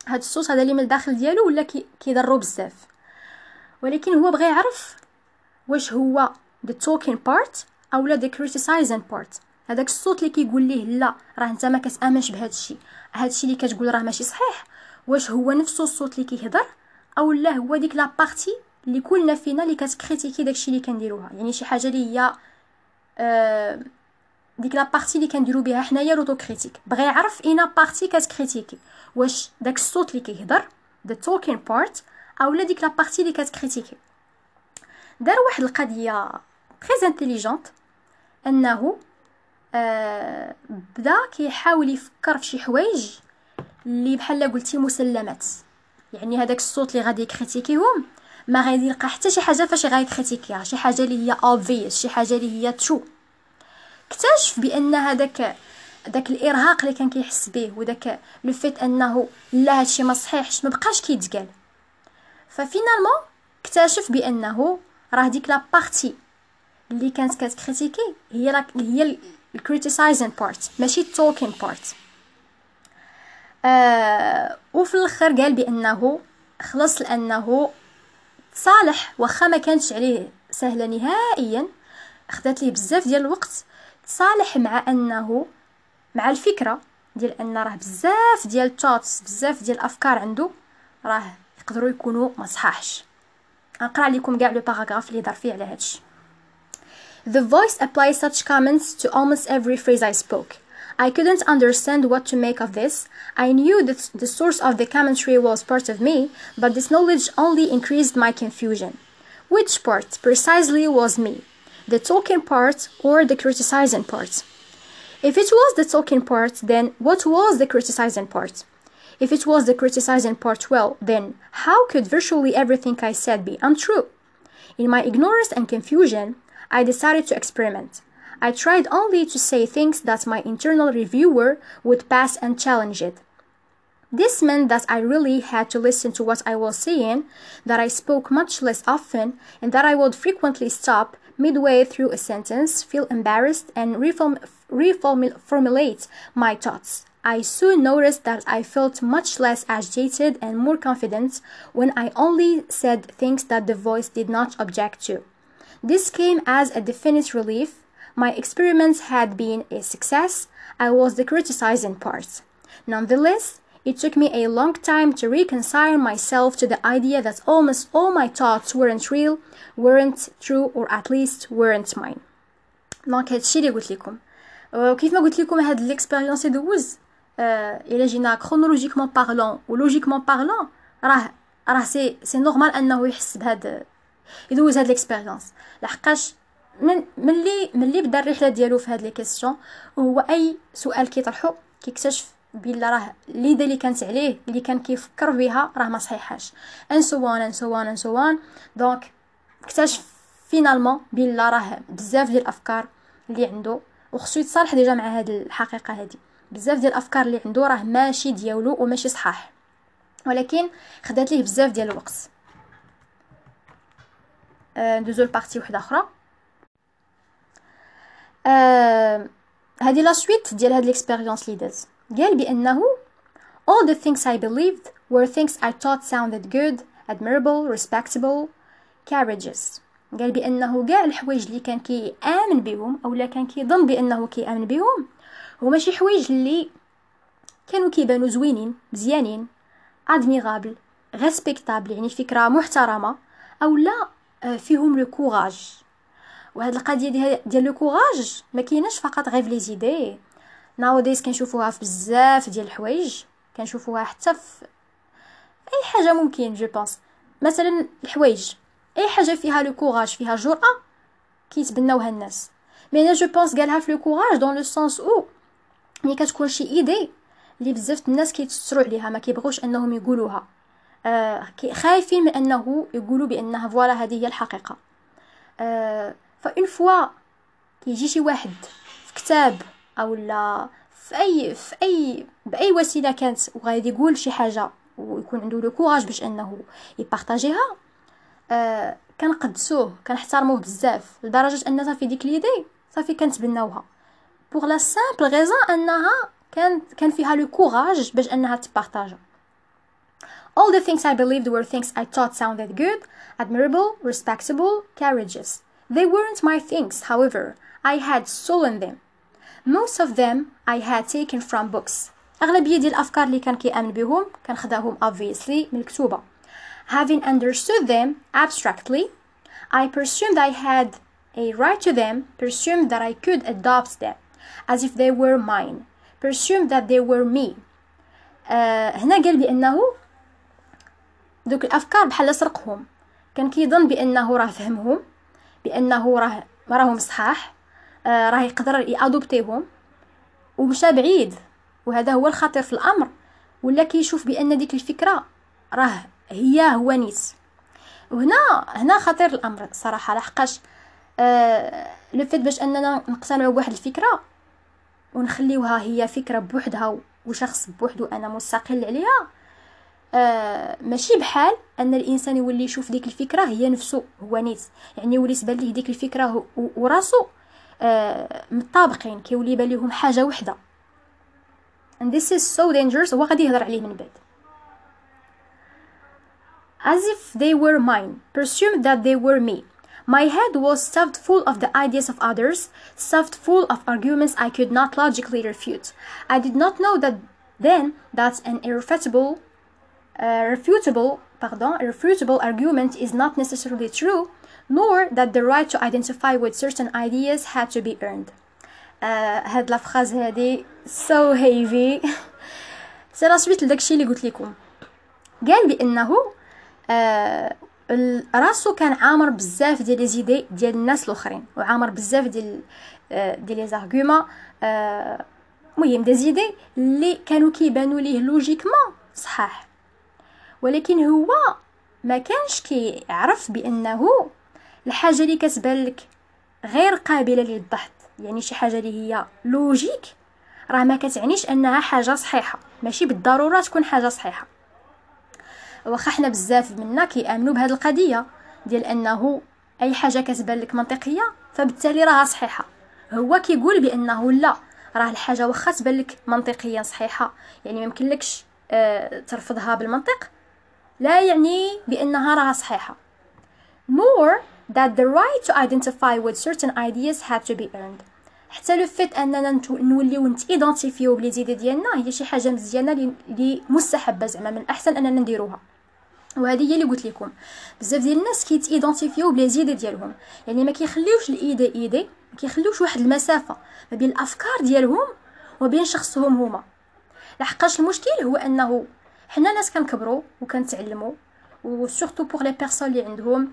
هاد الصوت هذا اللي من الداخل ديالو ولا كيضرو بزاف. ولكن هو بغى يعرف واش هو the talking part اولا the criticizing part. هذاك الصوت اللي كيقول ليه لا راه انت ما كتامنش بهذا الشيء، هذا الشيء اللي كتقول راه ماشي صحيح، واش هو نفسه الصوت اللي كيهضر اولا هو ديك لا بارتي اللي كلنا فينا اللي كتكريتيكي داكشي اللي كنديروها. يعني شي حاجه اللي هي آه ديك لا بارتي اللي كنديرو بها حنايا لوتو كريتيك. بغى يعرف اينا بارتي كتكريتيكي، واش داك الصوت اللي كيهضر the talking part اولا ديك لا بارتي اللي كتكريتيكي. دار واحد القضيه تري انتيليجونت، انه آه بدا كيحاول يفكر في شي حوايج اللي بحال قلتي مسلمات. يعني هذاك الصوت اللي غادي يكريتيكيهم ما غادي يلقى حتى شي حاجه فاش غادي يكريتيكيها، شي حاجه اللي هي obvious، شي حاجه اللي هي ترو. اكتشف بان هذاك داك الارهاق اللي كان كيحس به وداك لو فيت انه لا هادشي ما صحيحش ما بقاش كيتقال. ففينالمون اكتشف بانه راه ديك لا بارتي اللي كانت كتكريتيكي هي لا هي الكريتيسايزين بارت ماشي التوكين بارت. آه وفي الاخر قال بانه خلص، لانه صالح واخا ما كانتش عليه سهله نهائيا، خدات ليه بزاف ديال الوقت، صالح مع انه مع الفكره ديال ان راه بزاف ديال التوتس بزاف ديال الافكار عنده راه يقدروا يكونوا ما صحاحش. نقرا لكم كاع لو باراغراف اللي دار فيه على هادشي. The voice applies such comments to almost every phrase I spoke. I couldn't understand what to make of this. I knew that the source of the commentary was part of me, but this knowledge only increased my confusion. Which part precisely was me? The talking part or the criticizing part? If it was the talking part, then what was the criticizing part? If it was the criticizing part, well, then how could virtually everything I said be untrue? In my ignorance and confusion, I decided to experiment. I tried only to say things that my internal reviewer would pass and challenge it. This meant that I really had to listen to what I was saying, that I spoke much less often, and that I would frequently stop midway through a sentence, feel embarrassed, and reform- reformulate my thoughts. I soon noticed that I felt much less agitated and more confident when I only said things that the voice did not object to. This came as a definite relief. My experiments had been a success. I was the criticizing part. Nonetheless, it took me a long time to reconcile myself to the idea that almost all my thoughts weren't real, weren't true, or at least weren't mine. دونك هادشي اللي قلت لكم. وكيف ما قلت لكم هاد الاكسبيريونس يدوز آه الا جينا كرونولوجيكمون بارلون ولوجيكمون بارلون راه راه سي سي نورمال انه يحس بهاد يدوز هاد الاكسبيريونس. لحقاش من ملي ملي بدا الرحله ديالو في هاد لي كيسيون، وهو اي سؤال كيطرحو كيكتشف بلا راه ليدا اللي كانت عليه اللي كان كيفكر بها راه ما صحيحاش ان سوان ان سوان ان سوان. دونك اكتشف فينالمون بلا راه بزاف ديال الافكار اللي عنده، وخصو يتصالح ديجا مع هاد الحقيقه هادي، بزاف ديال الافكار اللي عنده راه ماشي ديالو وماشي صحاح، ولكن خدات ليه بزاف ديال الوقت. أه ندوزو لبارتي وحده اخرى. أه هذه لا سويت ديال هاد الاكسبيريونس اللي داز. قال بانه all the things I believed were things I thought sounded good, admirable, respectable, courageous. قال بانه كاع الحوايج اللي كان كيامن بهم اولا كان كيظن بانه كيامن بهم هما شي حوايج اللي كانوا كيبانوا زوينين مزيانين، ادميرابل، ريسبكتابل، يعني فكره محترمه، اولا فيهم لو كوراج. وهاد القضيه ديال لو كوراج ما كايناش فقط غير في لي زيدي، ناوديز كنشوفوها في بزاف ديال الحوايج، كنشوفوها حتى في اي حاجه ممكن. جو بونس مثلا الحوايج اي حاجه فيها لو كوراج فيها جرأه كيتبناوها الناس. مي انا جو بونس قالها في لو كوراج دون لو سونس او ملي كتكون شي ايدي اللي بزاف الناس كيتستروا عليها ما كيبغوش انهم يقولوها، آه خايفين من انه يقولوا بانها فوالا هذه هي الحقيقه. آه فاون فوا كيجي شي واحد في كتاب او لا في اي في اي باي وسيله كانت وغادي يقول شي حاجه ويكون عنده لو كوراج باش انه يبارطاجيها، آه كنقدسوه كنحترموه بزاف لدرجه ان صافي ديك ليدي صافي كنتبناوها بوغ لا سامبل غيزون انها كان كان فيها لو كوراج باش انها تبارطاجا. All the things I believed were things I thought sounded good, admirable, respectable, courageous. They weren't my things, however. I had stolen them. Most of them I had taken from books. أغلبية ديال الأفكار اللي كان كيأمن بهم كان خداهم obviously من الكتوبة. Having understood them abstractly, I presumed I had a right to them, presumed that I could adopt them as if they were mine, presumed that they were me. آه هنا قال بأنه دوك الأفكار بحال سرقهم، كان كيظن بأنه راه فهمهم، بأنه راه راهم صحاح، آه راه يقدر يأدوبتيهم، ومشى بعيد. وهذا هو الخطير في الأمر، ولا كيشوف بأن ديك الفكرة راه هي هو نيت. وهنا هنا خطير الأمر صراحة، لحقاش آه لو فيت باش أننا نقتنعوا بواحد الفكرة ونخليوها هي فكرة بوحدها وشخص بوحدو أنا مستقل عليها، آه ماشي بحال ان الانسان يولي يشوف ديك الفكره هي نفسه هو نيت، يعني يولي يبان ليه ديك الفكره وراسو آه متطابقين، كيولي يبان ليهم حاجه وحده. and this is so dangerous. هو غادي يهضر عليه من بعد. as if they were mine, presumed that they were me. My head was stuffed full of the ideas of others, stuffed full of arguments I could not logically refute. I did not know that then that an irrefutable Uh, refutable, pardon, a refutable argument is not necessarily true, nor that the right to identify with certain ideas had to be earned. Uh, هاد لا فراز هادي so heavy. سي لا سويت لداكشي اللي قلت لكم. قال بانه آه راسو كان عامر بزاف ديال لي زيدي ديال الناس الاخرين، وعامر بزاف ديال آه ديال لي زارغومون، آه مهم دي زيدي اللي كانوا كيبانوا ليه لوجيكمون صحاح، ولكن هو ما كانش كيعرف بانه الحاجه اللي كتبان لك غير قابله للبحث، يعني شي حاجه اللي هي لوجيك، راه ما كتعنيش انها حاجه صحيحه، ماشي بالضروره تكون حاجه صحيحه. واخا حنا بزاف منا كيامنوا بهذه القضيه ديال انه اي حاجه كتبان لك منطقيه فبالتالي راها صحيحه. هو كيقول بانه لا، راه الحاجه واخا تبان لك منطقيا صحيحه، يعني ما يمكنلكش آه ترفضها بالمنطق، لا يعني بأنها راها صحيحة. nor that the right to identify with certain ideas had to be earned. حتى لو فيت اننا نوليو نتيدونتيفيو بلي زيد ديالنا هي شي حاجه مزيانه اللي مستحبه، زعما من احسن اننا نديروها. وهذه هي اللي قلت لكم، بزاف ديال الناس كيتيدونتيفيو بلي زيد ديالهم، يعني ما كيخليوش الايدي ايدي، ما كيخليوش واحد المسافه ما بين الافكار ديالهم وبين شخصهم هما. لحقاش المشكل هو انه حنا ناس كنكبروا وكنتعلموا، وسورتو بوغ لي بيرسون اللي عندهم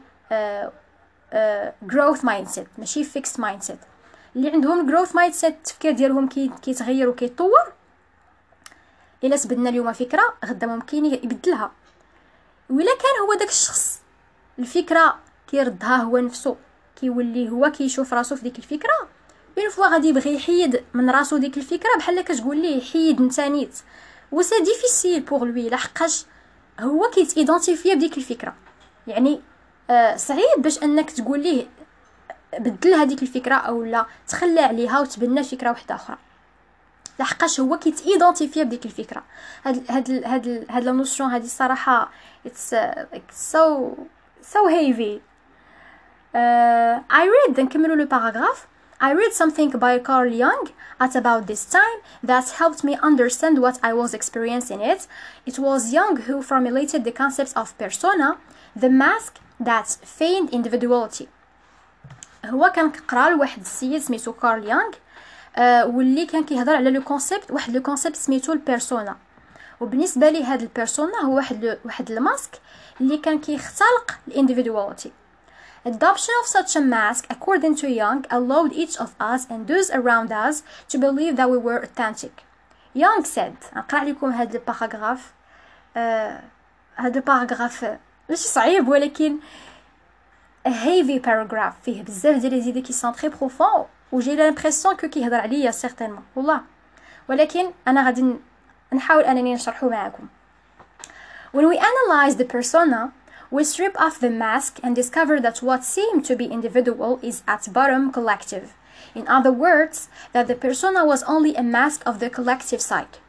جروث مايند سيت ماشي فيكس مايند سيت، اللي عندهم جروث مايند سيت التفكير ديالهم كيتغير وكيتطور. الا سبدنا اليوم فكره غدا ممكن يبدلها، وإلا كان هو داك الشخص الفكره كيردها هو نفسه، كيولي هو كيشوف راسو في ديك الفكره، بين فوا غادي يبغي يحيد من راسو ديك الفكره بحال كتقول ليه حيد انت نيت، و سي ديفيسيل بوغ لوي لحقاش هو كيتيدونتيفيا بديك الفكره. يعني آه صعيب باش انك تقول ليه بدل هذيك الفكره او لا تخلى عليها وتبنى فكره واحده اخرى، لحقاش هو كيتيدونتيفيا بديك الفكره. هاد هاد هاد هاد لا نوسيون هادي الصراحه it's uh, like so so heavy. uh, I read نكملوا لو باراغراف. I read something by Carl Jung at about this time that helped me understand what I was experiencing it. It was Jung who formulated the concept of persona, the mask that feigned individuality. هو كان كقرا لواحد السيد سميتو كارل يونغ، آه واللي كان كيهضر على لو كونسيبت، واحد لو كونسيبت سميتو البيرسونا. وبالنسبه لي هذا البيرسونا هو واحد واحد الماسك اللي كان كيختلق الانديفيدواليتي. Adoption of such a mask, according to Jung, allowed each of us and those around us to believe that we were authentic. Jung said, نقرأ لكم هذا الباراغراف. آه هذا الباراغراف ماشي صعيب ولكن a heavy paragraph، فيه بزاف ديال لي زيدي كي سون تري بروفون، وجي لامبريسيون كو كيهضر عليا سيغتينمون والله، ولكن انا غادي نحاول انني نشرحه معكم. When we analyze the persona, we strip off the mask and discover that what seemed to be individual is at bottom collective. In other words, that the persona was only a mask of the collective side.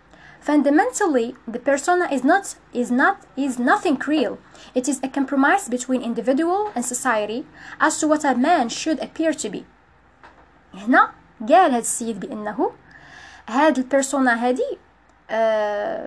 Fundamentally, the persona is not is not is nothing real. It is a compromise between individual and society as to what a man should appear to be. هنا قال هذا السيد بأنه هاد البيرسونا هادي آه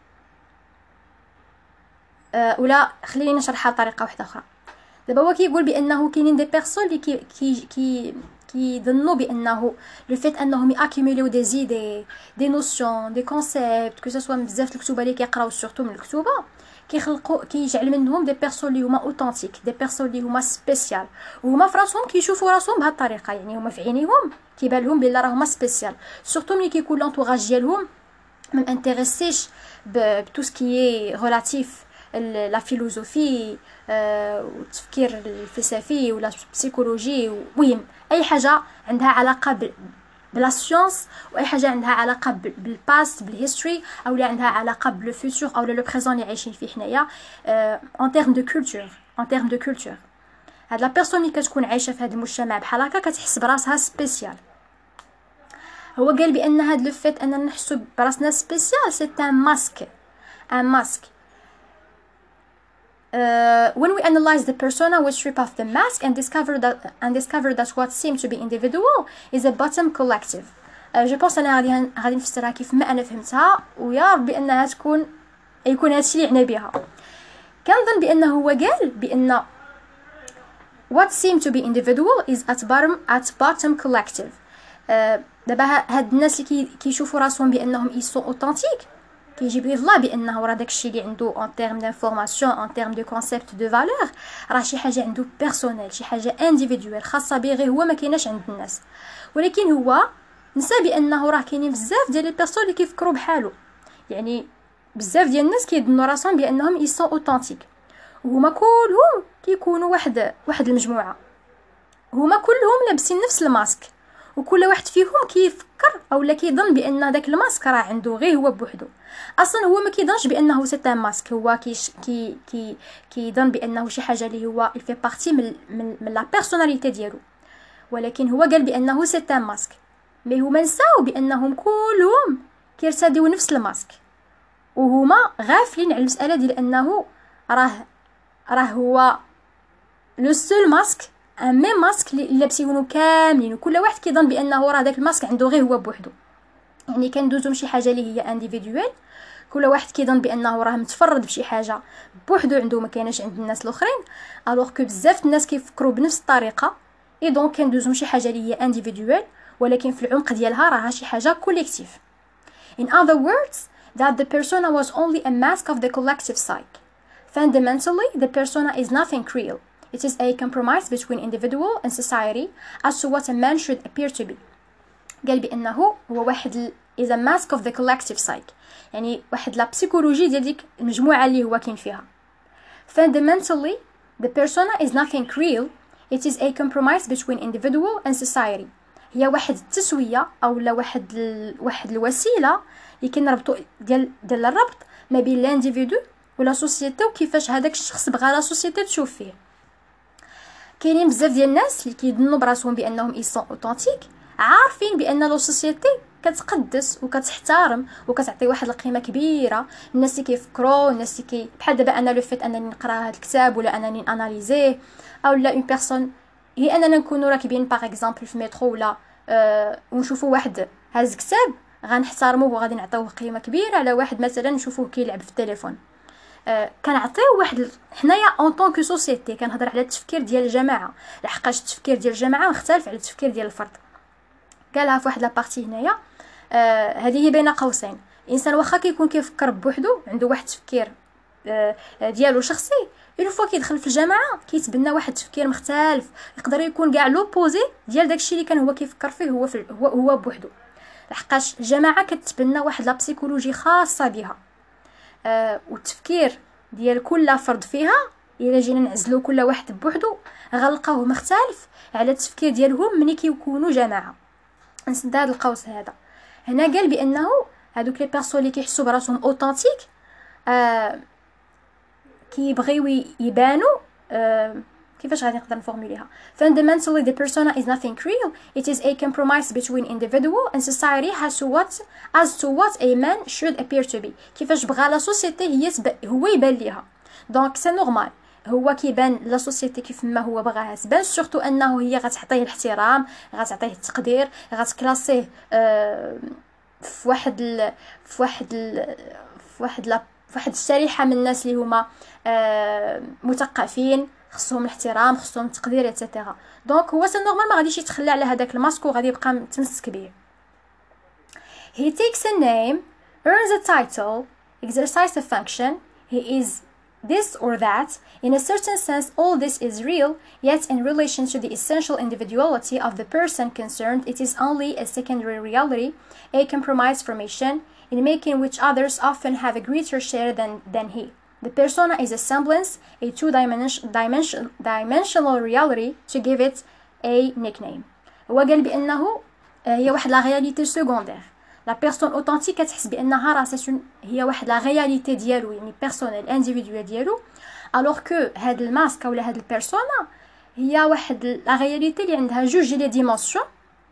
آه ولا خليني نشرحها بطريقه واحده اخرى. دابا هو كيقول بانه كاينين دي بيرسون اللي كي كي كي كيظنوا بانه لو فيت انهم ياكيميليو دي زيدي دي نوسيون دي كونسيبت كو سوا من بزاف الكتوبه اللي كيقراو سورتو من الكتوبه كيخلقوا كيجعل منهم دي بيرسون اللي هما اوثنتيك دي بيرسون اللي هما سبيسيال وهما فراسهم كيشوفوا راسهم بهذه الطريقه يعني هما في عينيهم كيبان لهم بلي راهما سبيسيال سورتو ملي كيكون لونطوراج ديالهم ما انتريسيش بتو سكي ريلاتيف لا فيلوزوفي والتفكير الفلسفي ولا البسيكولوجي المهم اي حاجه عندها علاقه بلا سيونس واي حاجه عندها علاقه بالباست بالهيستوري او اللي عندها علاقه بالفيوتور او لو بريزون اللي عايشين فيه حنايا ان تيرم دو كولتور ان تيرم دو كولتور. هاد لا بيرسون اللي كتكون عايشه في هذا المجتمع بحال هكا كتحس براسها سبيسيال. هو قال بان هاد لو فيت اننا نحسو براسنا سبيسيال سي ان ماسك ان ماسك. Uh, when we analyze the persona, we strip off the mask and discover that and discover that what seemed to be individual is a bottom collective. uh, je pense انا غادي غادي نفسرها كيف ما انا فهمتها ويا ربي انها تكون يكون هادشي اللي عنا بها. كنظن بانه هو قال بان what seemed to be individual is at bottom at bottom collective. uh, دابا هاد الناس اللي كيشوفوا راسهم بانهم يسون اوثنتيك كيجيب ليه الله بانه راه داكشي اللي عنده ان تيرم دانفورماسيون ان تيرم دو كونسيبت دو فالور راه شي حاجه عنده بيرسونيل شي حاجه انديفيدوال خاصه به غير هو ما كايناش عند الناس. ولكن هو نسى بانه راه كاينين بزاف ديال لي بيرسون اللي كيفكروا بحالو يعني بزاف ديال الناس كيظنوا راسهم بانهم يسون اوثنتيك وهما كلهم كيكونوا واحد واحد المجموعه هما كلهم لابسين نفس الماسك وكل واحد فيهم كيفكر اولا كيظن بان داك الماسك راه عنده غير هو بوحدو. اصلا هو ما كيظنش بانه سي ان ماسك هو كيش كي كي كيظن بانه شي حاجه اللي هو يفي بارتي من من, من لا بيرسوناليتي ديالو. ولكن هو قال بانه سي ان ماسك مي هما نساو بانهم كلهم كيرتديو نفس الماسك وهما غافلين على المساله ديال انه راه راه هو لو سول ماسك ان ميم ماسك اللي لابسينو كاملين وكل واحد كيظن بانه راه داك الماسك عنده غير هو بوحدو. يعني كندوزو شي حاجه اللي هي انديفيدوال كل واحد كيظن بانه راه متفرد بشي حاجه بوحدو عنده ما كايناش عند الناس الاخرين الوغ كو بزاف الناس كيفكروا بنفس الطريقه اي دونك كندوزو شي حاجه اللي هي انديفيدوال ولكن في العمق ديالها راها شي حاجه كوليكتيف. In other words that the persona was only a mask of the collective psyche. Fundamentally the persona is nothing real. It is a compromise between individual and society as to what a man should appear to be. قال بانه هو واحد is a mask of the collective psyche يعني واحد لا بسيكولوجي ديال ديك المجموعه اللي هو كاين فيها. Fundamentally the persona is nothing real. It is a compromise between individual and society. هي واحد التسويه او لا واحد ال... واحد الوسيله اللي كنربطوا ديال ديال الربط ما بين لانديفيدو ولا سوسيتي وكيفاش هذاك الشخص بغى لا سوسيتي تشوف فيه. كاينين بزاف ديال الناس اللي كيظنوا براسهم بانهم يسون اوثنتيك عارفين بان لو سوسيتي كتقدس وكتحترم وكتعطي واحد القيمه كبيره الناس اللي كيفكروا الناس اللي كي بحال دابا انا لو فيت انني نقرا هذا الكتاب ولا انني اناليزيه او لا اون بيرسون هي اننا نكونوا راكبين باغ اكزامبل في مترو ولا أه ونشوفوا واحد هاز كتاب غنحترموه وغادي نعطيوه قيمه كبيره على واحد مثلا نشوفوه كيلعب في التليفون. أه كنعطيو واحد حنايا اون طون كو سوسيتي كنهضر على التفكير ديال الجماعه لحقاش التفكير ديال الجماعه مختلف على التفكير ديال الفرد. قالها في واحد لابارتي هنايا آه هذه هي بين قوسين الانسان واخا كيكون كيفكر بوحدو عنده واحد التفكير آه ديالو شخصي اون فوا كيدخل في الجماعه كيتبنى واحد التفكير مختلف يقدر يكون كاع لوبوزي ديال داكشي اللي كان هو كيفكر فيه هو في هو هو بوحدو لحقاش الجماعه كتبنى واحد لا بسيكولوجي خاصه بها آه والتفكير ديال كل فرد فيها الا جينا نعزلو كل واحد بوحدو غنلقاوه مختلف على التفكير ديالهم ملي كيكونوا جماعه. نسد هذا القوس هذا هنا قال بانه هذوك لي بيرسون اللي كيحسوا براسهم اوثنتيك آه كيبغيو يبانوا آه كيفاش غادي نقدر نفورموليها؟ fundamentally the persona is nothing real. It is a compromise between individual and society as to what as to what a man should appear to be. كيفاش بغى لا سوسيتي هي تب... هو يبان ليها. دونك سي نورمال هو كيبان لا سوسيتي كيف ما هو بغاها تبان، سورتو انه هي غتعطيه الاحترام، غتعطيه التقدير، غتكلاسيه أه في واحد ال... في واحد ال... في واحد لا في واحد الشريحه من الناس اللي هما أه مثقفين، خصهم الاحترام، خصهم التقدير ايتترا. دونك هو سي نورمال ما غاديش يتخلى على هذاك الماسك وغادي يبقى متمسك به. He takes a name, earns a title, exercises a function. He is this or that. In a certain sense, all this is real, yet in relation to the essential individuality of the person concerned, it is only a secondary reality, a compromise formation, in making which others often have a greater share than, than he. The persona is a semblance, a two-dimensional dimension, dimensional reality, to give it a nickname. هو قال بأنه هي واحد لا réalité secondaire. لا بيرسون اوثنتيك كتحس بانها راه سي هي واحد لا رياليتي ديالو، يعني بيرسونيل انديفيدوال ديالو، الوغ كو هاد الماسك ولا هاد البيرسونا هي واحد لا رياليتي اللي عندها جوج لي ديمونسيون،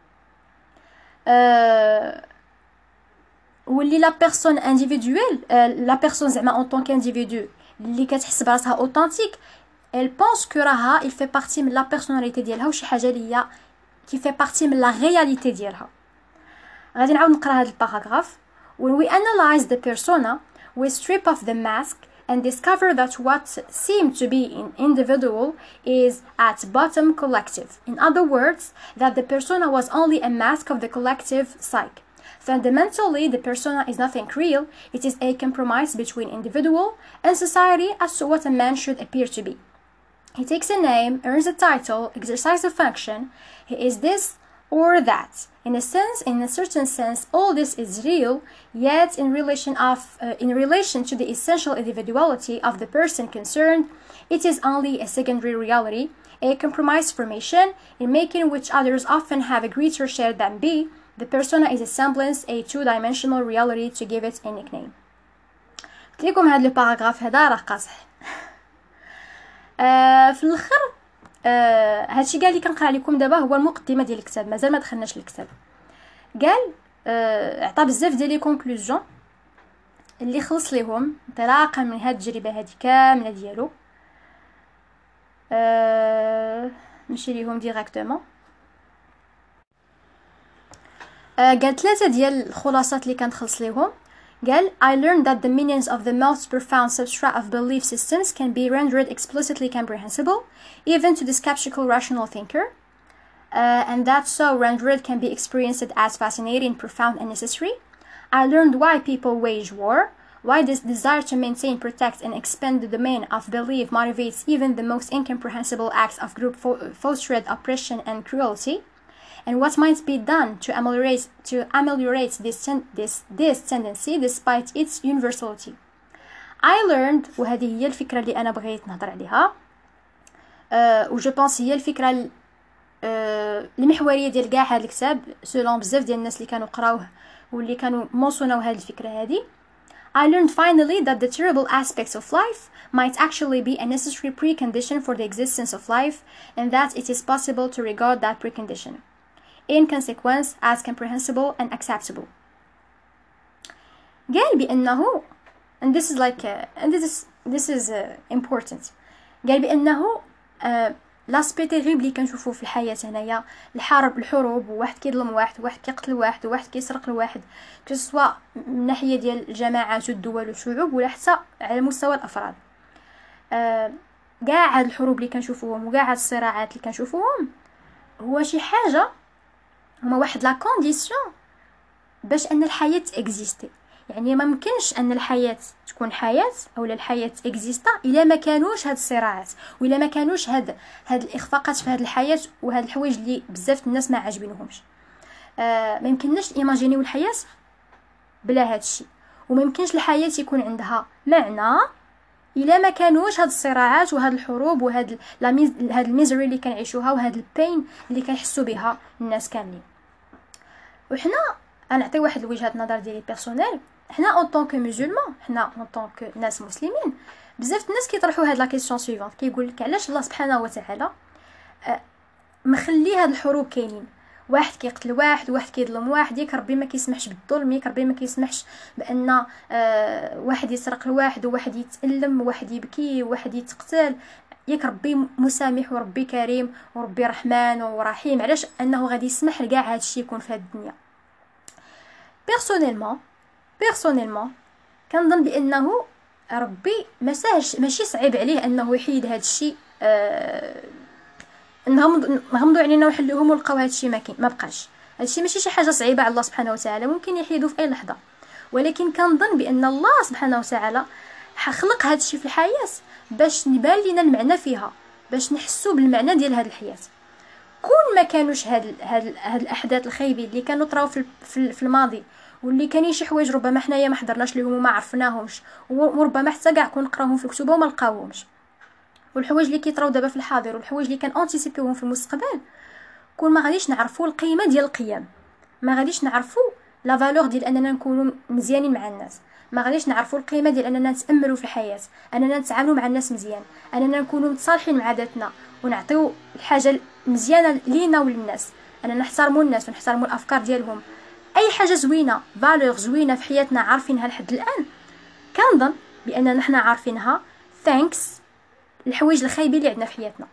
أه واللي لا بيرسون انديفيدوال لا بيرسون زعما اون طونك انديفيدو اللي كتحس براسها اوثنتيك elle pense que راها il fait partie من لا بيرسوناليتي ديالها وشي حاجه اللي هي كي fait partie من لا رياليتي ديالها. غادي نعاود نقرا هذا الباراغراف. When we analyze the persona, we strip off the mask and discover that what seemed to be an individual is at bottom collective. In other words, that the persona was only a mask of the collective psyche. Fundamentally, the persona is nothing real. It is a compromise between individual and society as to what a man should appear to be. He takes a name, earns a title, exercises a function. He is this or that. In a sense, in a certain sense, all this is real, yet in relation of uh, in relation to the essential individuality of the person concerned, it is only a secondary reality, a compromise formation, in making which others often have a greater share than be. The persona is a semblance, a two-dimensional reality, to give it a nickname. قلت لكم هذا الباراغراف هذا راه قاصح. آه في الاخر آه هادشي كاع اللي كنقرا لكم دابا هو المقدمه ديال الكتاب، مازال ما دخلناش للكتاب. قال آه عطى بزاف ديال لي كونكلوزيون اللي خلص ليهم انطلاقا من هاد التجربه هادي كامله ديالو. آه نمشي ليهم ديريكتومون. آه قال ثلاثه ديال الخلاصات اللي كنخلص ليهم. قال I learned that the meanings of the most profound substrate of belief systems can be rendered explicitly comprehensible, even to the skeptical rational thinker, uh, and that so rendered can be experienced as fascinating, profound, and necessary. I learned why people wage war, why this desire to maintain, protect, and expand the domain of belief motivates even the most incomprehensible acts of group fostered oppression and cruelty, and what might be done to ameliorate to ameliorate this ten- this this tendency despite its universality. I learned وهذه هي الفكرة اللي أنا بغيت نهضر عليها أه و جو بونس هي الفكرة أه المحورية ديال كاع هذا الكتاب سولون بزاف ديال الناس اللي كانوا قراوه واللي كانوا موصوناو هذه الفكرة هذه. I learned finally that the terrible aspects of life might actually be a necessary precondition for the existence of life, and that it is possible to regard that precondition in consequence as comprehensible and acceptable. قال بأنه and this is like uh, and this is this is uh, important. قال بأنه لاسبي تيريبل اللي كنشوفوه في الحياة هنايا الحرب الحروب وواحد كيظلم واحد وواحد كيقتل واحد وواحد كيسرق لواحد كسوا من ناحية ديال الجماعات والدول والشعوب ولا حتى على مستوى الأفراد. كاع هاد الحروب اللي كنشوفوهم وكاع هاد الصراعات اللي كنشوفوهم هو شي حاجة هما واحد لا كونديسيون باش ان الحياه اكزيستي. يعني ما ممكنش ان الحياه تكون حياه اولا الحياه اكزيستا الا ما كانوش هاد الصراعات والا ما كانوش هاد هاد الاخفاقات في هاد الحياه وهاد الحوايج اللي بزاف الناس ما عاجبينهمش. آه ما يمكنناش ايماجينيو الحياه بلا هاد الشيء، وما يمكنش الحياه يكون عندها معنى الا ما كانوش هاد الصراعات وهاد الحروب وهاد لا هاد الميزري اللي كنعيشوها وهاد البين اللي كيحسوا بها الناس كاملين. وحنا غنعطي واحد وجهه نظر ديالي بيرسونيل. حنا اون طونك مسلمان، حنا اون طونك ناس مسلمين بزاف الناس كيطرحوا هاد لا كيسيون سويفونت، كيقول لك علاش الله سبحانه وتعالى آه مخلي هاد الحروب كاينين، واحد كيقتل واحد، واحد كيظلم واحد، ياك ربي ما كيسمحش بالظلم، ياك ربي ما كيسمحش بان آه واحد يسرق لواحد وواحد يتألم وواحد يبكي وواحد يتقتل، ياك ربي مسامح وربي كريم وربي رحمن ورحيم، علاش انه غادي يسمح لكاع هادشي يكون في هاد الدنيا؟ بيرسونيلمون بيرسونيلمون كنظن بانه ربي ما ساهلش، ماشي صعيب عليه انه يحيد هذا الشيء، آه نغمض نغمضوا علينا وحلوهم ولقاو هذا الشيء ما كاين، ما بقاش. هذا الشيء ماشي شي حاجه صعيبه على الله سبحانه وتعالى، ممكن يحيدو في اي لحظه، ولكن كنظن بان الله سبحانه وتعالى خلق هذا الشيء في الحياه باش نبان لينا المعنى فيها، باش نحسوا بالمعنى ديال هذه الحياه. كون ما كانوش هاد هاد هاد الاحداث الخايبين اللي كانوا طراو في في الماضي، واللي كاينين شي حوايج ربما حنايا ما حضرناش ليهم وما عرفناهمش، وربما حتى كاع كون نقراوهم في الكتب وما لقاوهمش، والحوايج اللي كيطراو دابا في الحاضر والحوايج اللي كان انتيسيبيوهم في المستقبل، كون ما غاديش نعرفوا القيمه ديال القيم، ما غاديش نعرفوا لا فالور ديال اننا نكونوا مزيانين مع الناس، ما غاديش نعرفوا القيمه ديال اننا نتاملوا في الحياه، اننا نتعاملوا مع الناس مزيان، اننا نكونوا متصالحين مع ذاتنا ونعطيو الحاجه مزيانه لينا وللناس، اننا نحترموا الناس ونحترموا الافكار ديالهم، اي حاجه زوينه فالور زوينه في حياتنا عارفينها لحد الان، كنظن باننا حنا عارفينها ثانكس الحوايج الخايبين اللي عندنا في حياتنا.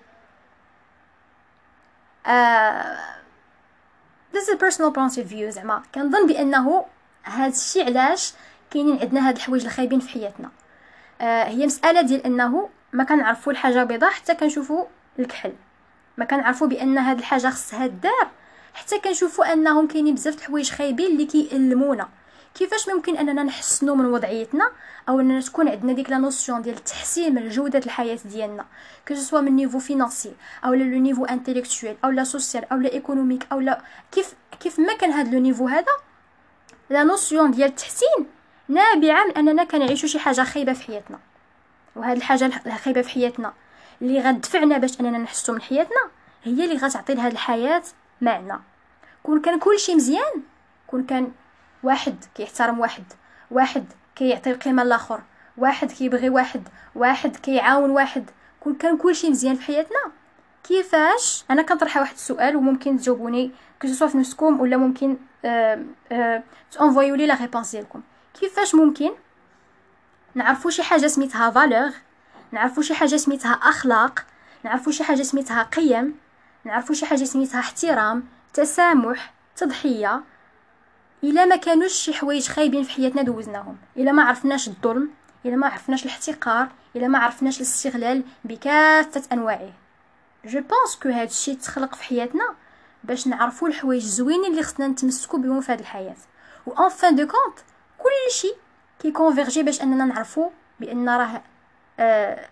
آه this is a personal point of view، زعما كنظن بانه هذا الشيء علاش كاينين عندنا هاد الحوايج الخايبين في حياتنا. آه هي مساله ديال انه ما كنعرفوا الحاجه بيضاء حتى كنشوفوا الكحل، ما كنعرفوا بان هاد الحاجه خصها الدار حتى كنشوفوا انهم كاينين بزاف د الحوايج خايبين اللي كيألمونا. كيفاش ممكن اننا نحسنوا من وضعيتنا او اننا تكون عندنا ديك لا نوسيون ديال التحسين من جوده الحياه ديالنا، كو سوا من نيفو فينانسي او لو نيفو انتيليكتويل او لا سوسيال او لا ايكونوميك او لا كيف كيف ما كان هذا لو نيفو هذا، لا نوسيون ديال التحسين نابعه من اننا كنعيشوا شي حاجه خايبه في حياتنا، وهاد الحاجه الخايبه في حياتنا اللي غتدفعنا باش اننا نحسوا من حياتنا هي اللي غتعطي لهاد الحياه معنى. كون كان كلشي مزيان، كون كان واحد كيحترم واحد، واحد كيعطي القيمه للاخر، واحد كيبغي واحد، واحد كيعاون واحد، كون كان كلشي مزيان في حياتنا، كيفاش انا كنطرح واحد السؤال وممكن تجاوبوني كو سوا في نفسكم ولا ممكن آه آه تانفويو لي لا ريبونس ديالكم، كيفاش ممكن نعرفوا شي حاجه سميتها فالور، نعرفوا شي حاجه سميتها اخلاق، نعرفوا شي حاجه سميتها قيم، نعرفوا شي حاجه سميتها احترام، تسامح، تضحيه، الا ما كانوش شي حوايج خايبين في حياتنا دوزناهم، الا ما عرفناش الظلم، الا ما عرفناش الاحتقار، الا ما عرفناش الاستغلال بكافه انواعه. جو بونس كو هاد الشيء تخلق في حياتنا باش نعرفوا الحوايج زوينين اللي خصنا نتمسكوا بهم في هذه الحياه، و ان فان دو كونت كل شيء كيكونفيرجي باش اننا نعرفوا بان راه آه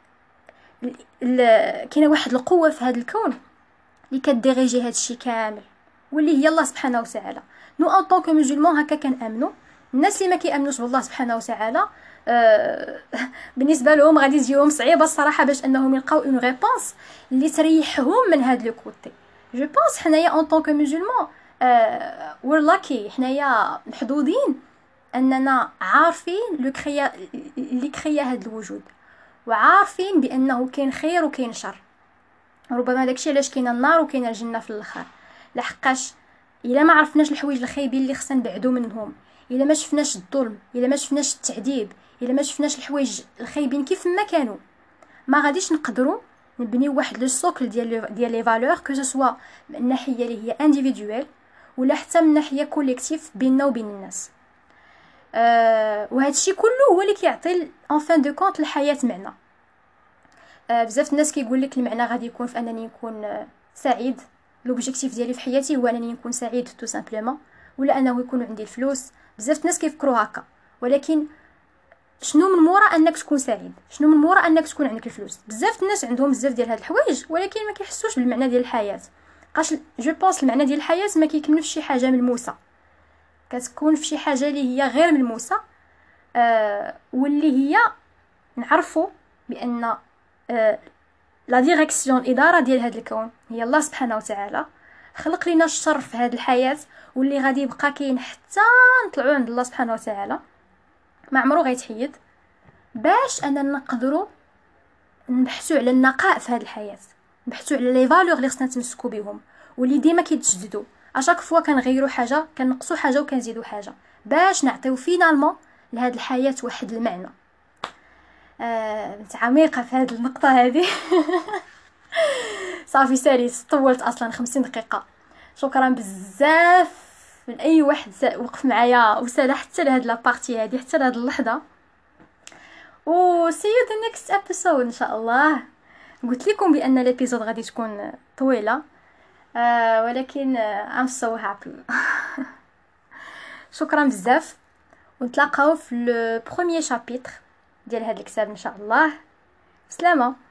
كاينه واحد القوه في هذا الكون اللي كديريجي هذا الشيء كامل، واللي هي الله سبحانه وتعالى. نو ان طونك مسلمون هكا كنامنوا، الناس اللي ما كيامنوش بالله سبحانه وتعالى آه بالنسبه لهم غادي تجيهم صعيبه الصراحه باش انهم يلقاو اون ريبونس اللي تريحهم من هذا لو كوتي. جو بونس حنايا ان طونك مسلمون آه وير لاكي، حنايا محظوظين اننا عارفين لو كريا اللي كريا هذا الوجود، وعارفين بانه كاين خير وكاين شر، ربما داكشي علاش كاينه النار وكاينه الجنه في الاخر، لحقاش الا ما عرفناش الحوايج الخايبين اللي خصنا نبعدوا منهم، الا ما شفناش الظلم، الا ما شفناش التعذيب، الا ما شفناش الحوايج الخايبين كيف ما كانوا، ما غاديش نقدروا نبنيو واحد لو سوكل ديال ديال لي فالور كو سوا من الناحيه اللي هي انديفيدويل ولا حتى من ناحيه كوليكتيف بيننا وبين الناس. أه وهذا الشيء كله هو اللي كيعطي ان فان دو كونت الحياه معنى. أه بزاف الناس كيقول لك المعنى غادي يكون في انني نكون أه سعيد، لوبجيكتيف ديالي في حياتي هو انني نكون سعيد تو سامبلومون، ولا انه يكون عندي الفلوس. بزاف الناس كيفكروا هكا، ولكن شنو من مورا انك تكون سعيد؟ شنو من مورا انك تكون عندك الفلوس؟ بزاف الناس عندهم بزاف ديال هاد الحوايج ولكن ما كيحسوش بالمعنى ديال الحياه. قاش جو بونس المعنى ديال الحياه ما كيكمل في شي حاجه ملموسه، كتكون في شي حاجه اللي هي غير ملموسه، آه واللي هي نعرفوا بان آه لا ديريكسيون الاداره ديال هذا الكون هي الله سبحانه وتعالى. خلق لنا الشر في هذه الحياه واللي غادي يبقى كاين حتى نطلعوا عند الله سبحانه وتعالى، ما عمرو غيتحيد، باش اننا نقدروا نبحثوا على النقاء في هذه الحياه، نبحثوا على لي فالور اللي خصنا نتمسكوا بهم واللي ديما كيتجددوا. اشاك فوا كنغيروا حاجه، كنقصوا حاجه وكنزيدوا حاجه باش نعطيو فينالمون لهاد الحياه واحد المعنى. آه عميقه في هذه النقطه هذه. صافي ساليس، طولت اصلا خمسين دقيقه. شكرا بزاف من اي واحد وقف معايا وسال حتى لهاد لابارتي هذه، حتى لهاد اللحظه. و see you the next episode ان شاء الله. قلت لكم بان الابيزود غادي تكون طويله، آه ولكن آه I'm so happy. شكرا بزاف، ونتلاقاو في لو بروميير شابيتر ديال هذا الكتاب ان شاء الله. سلامه.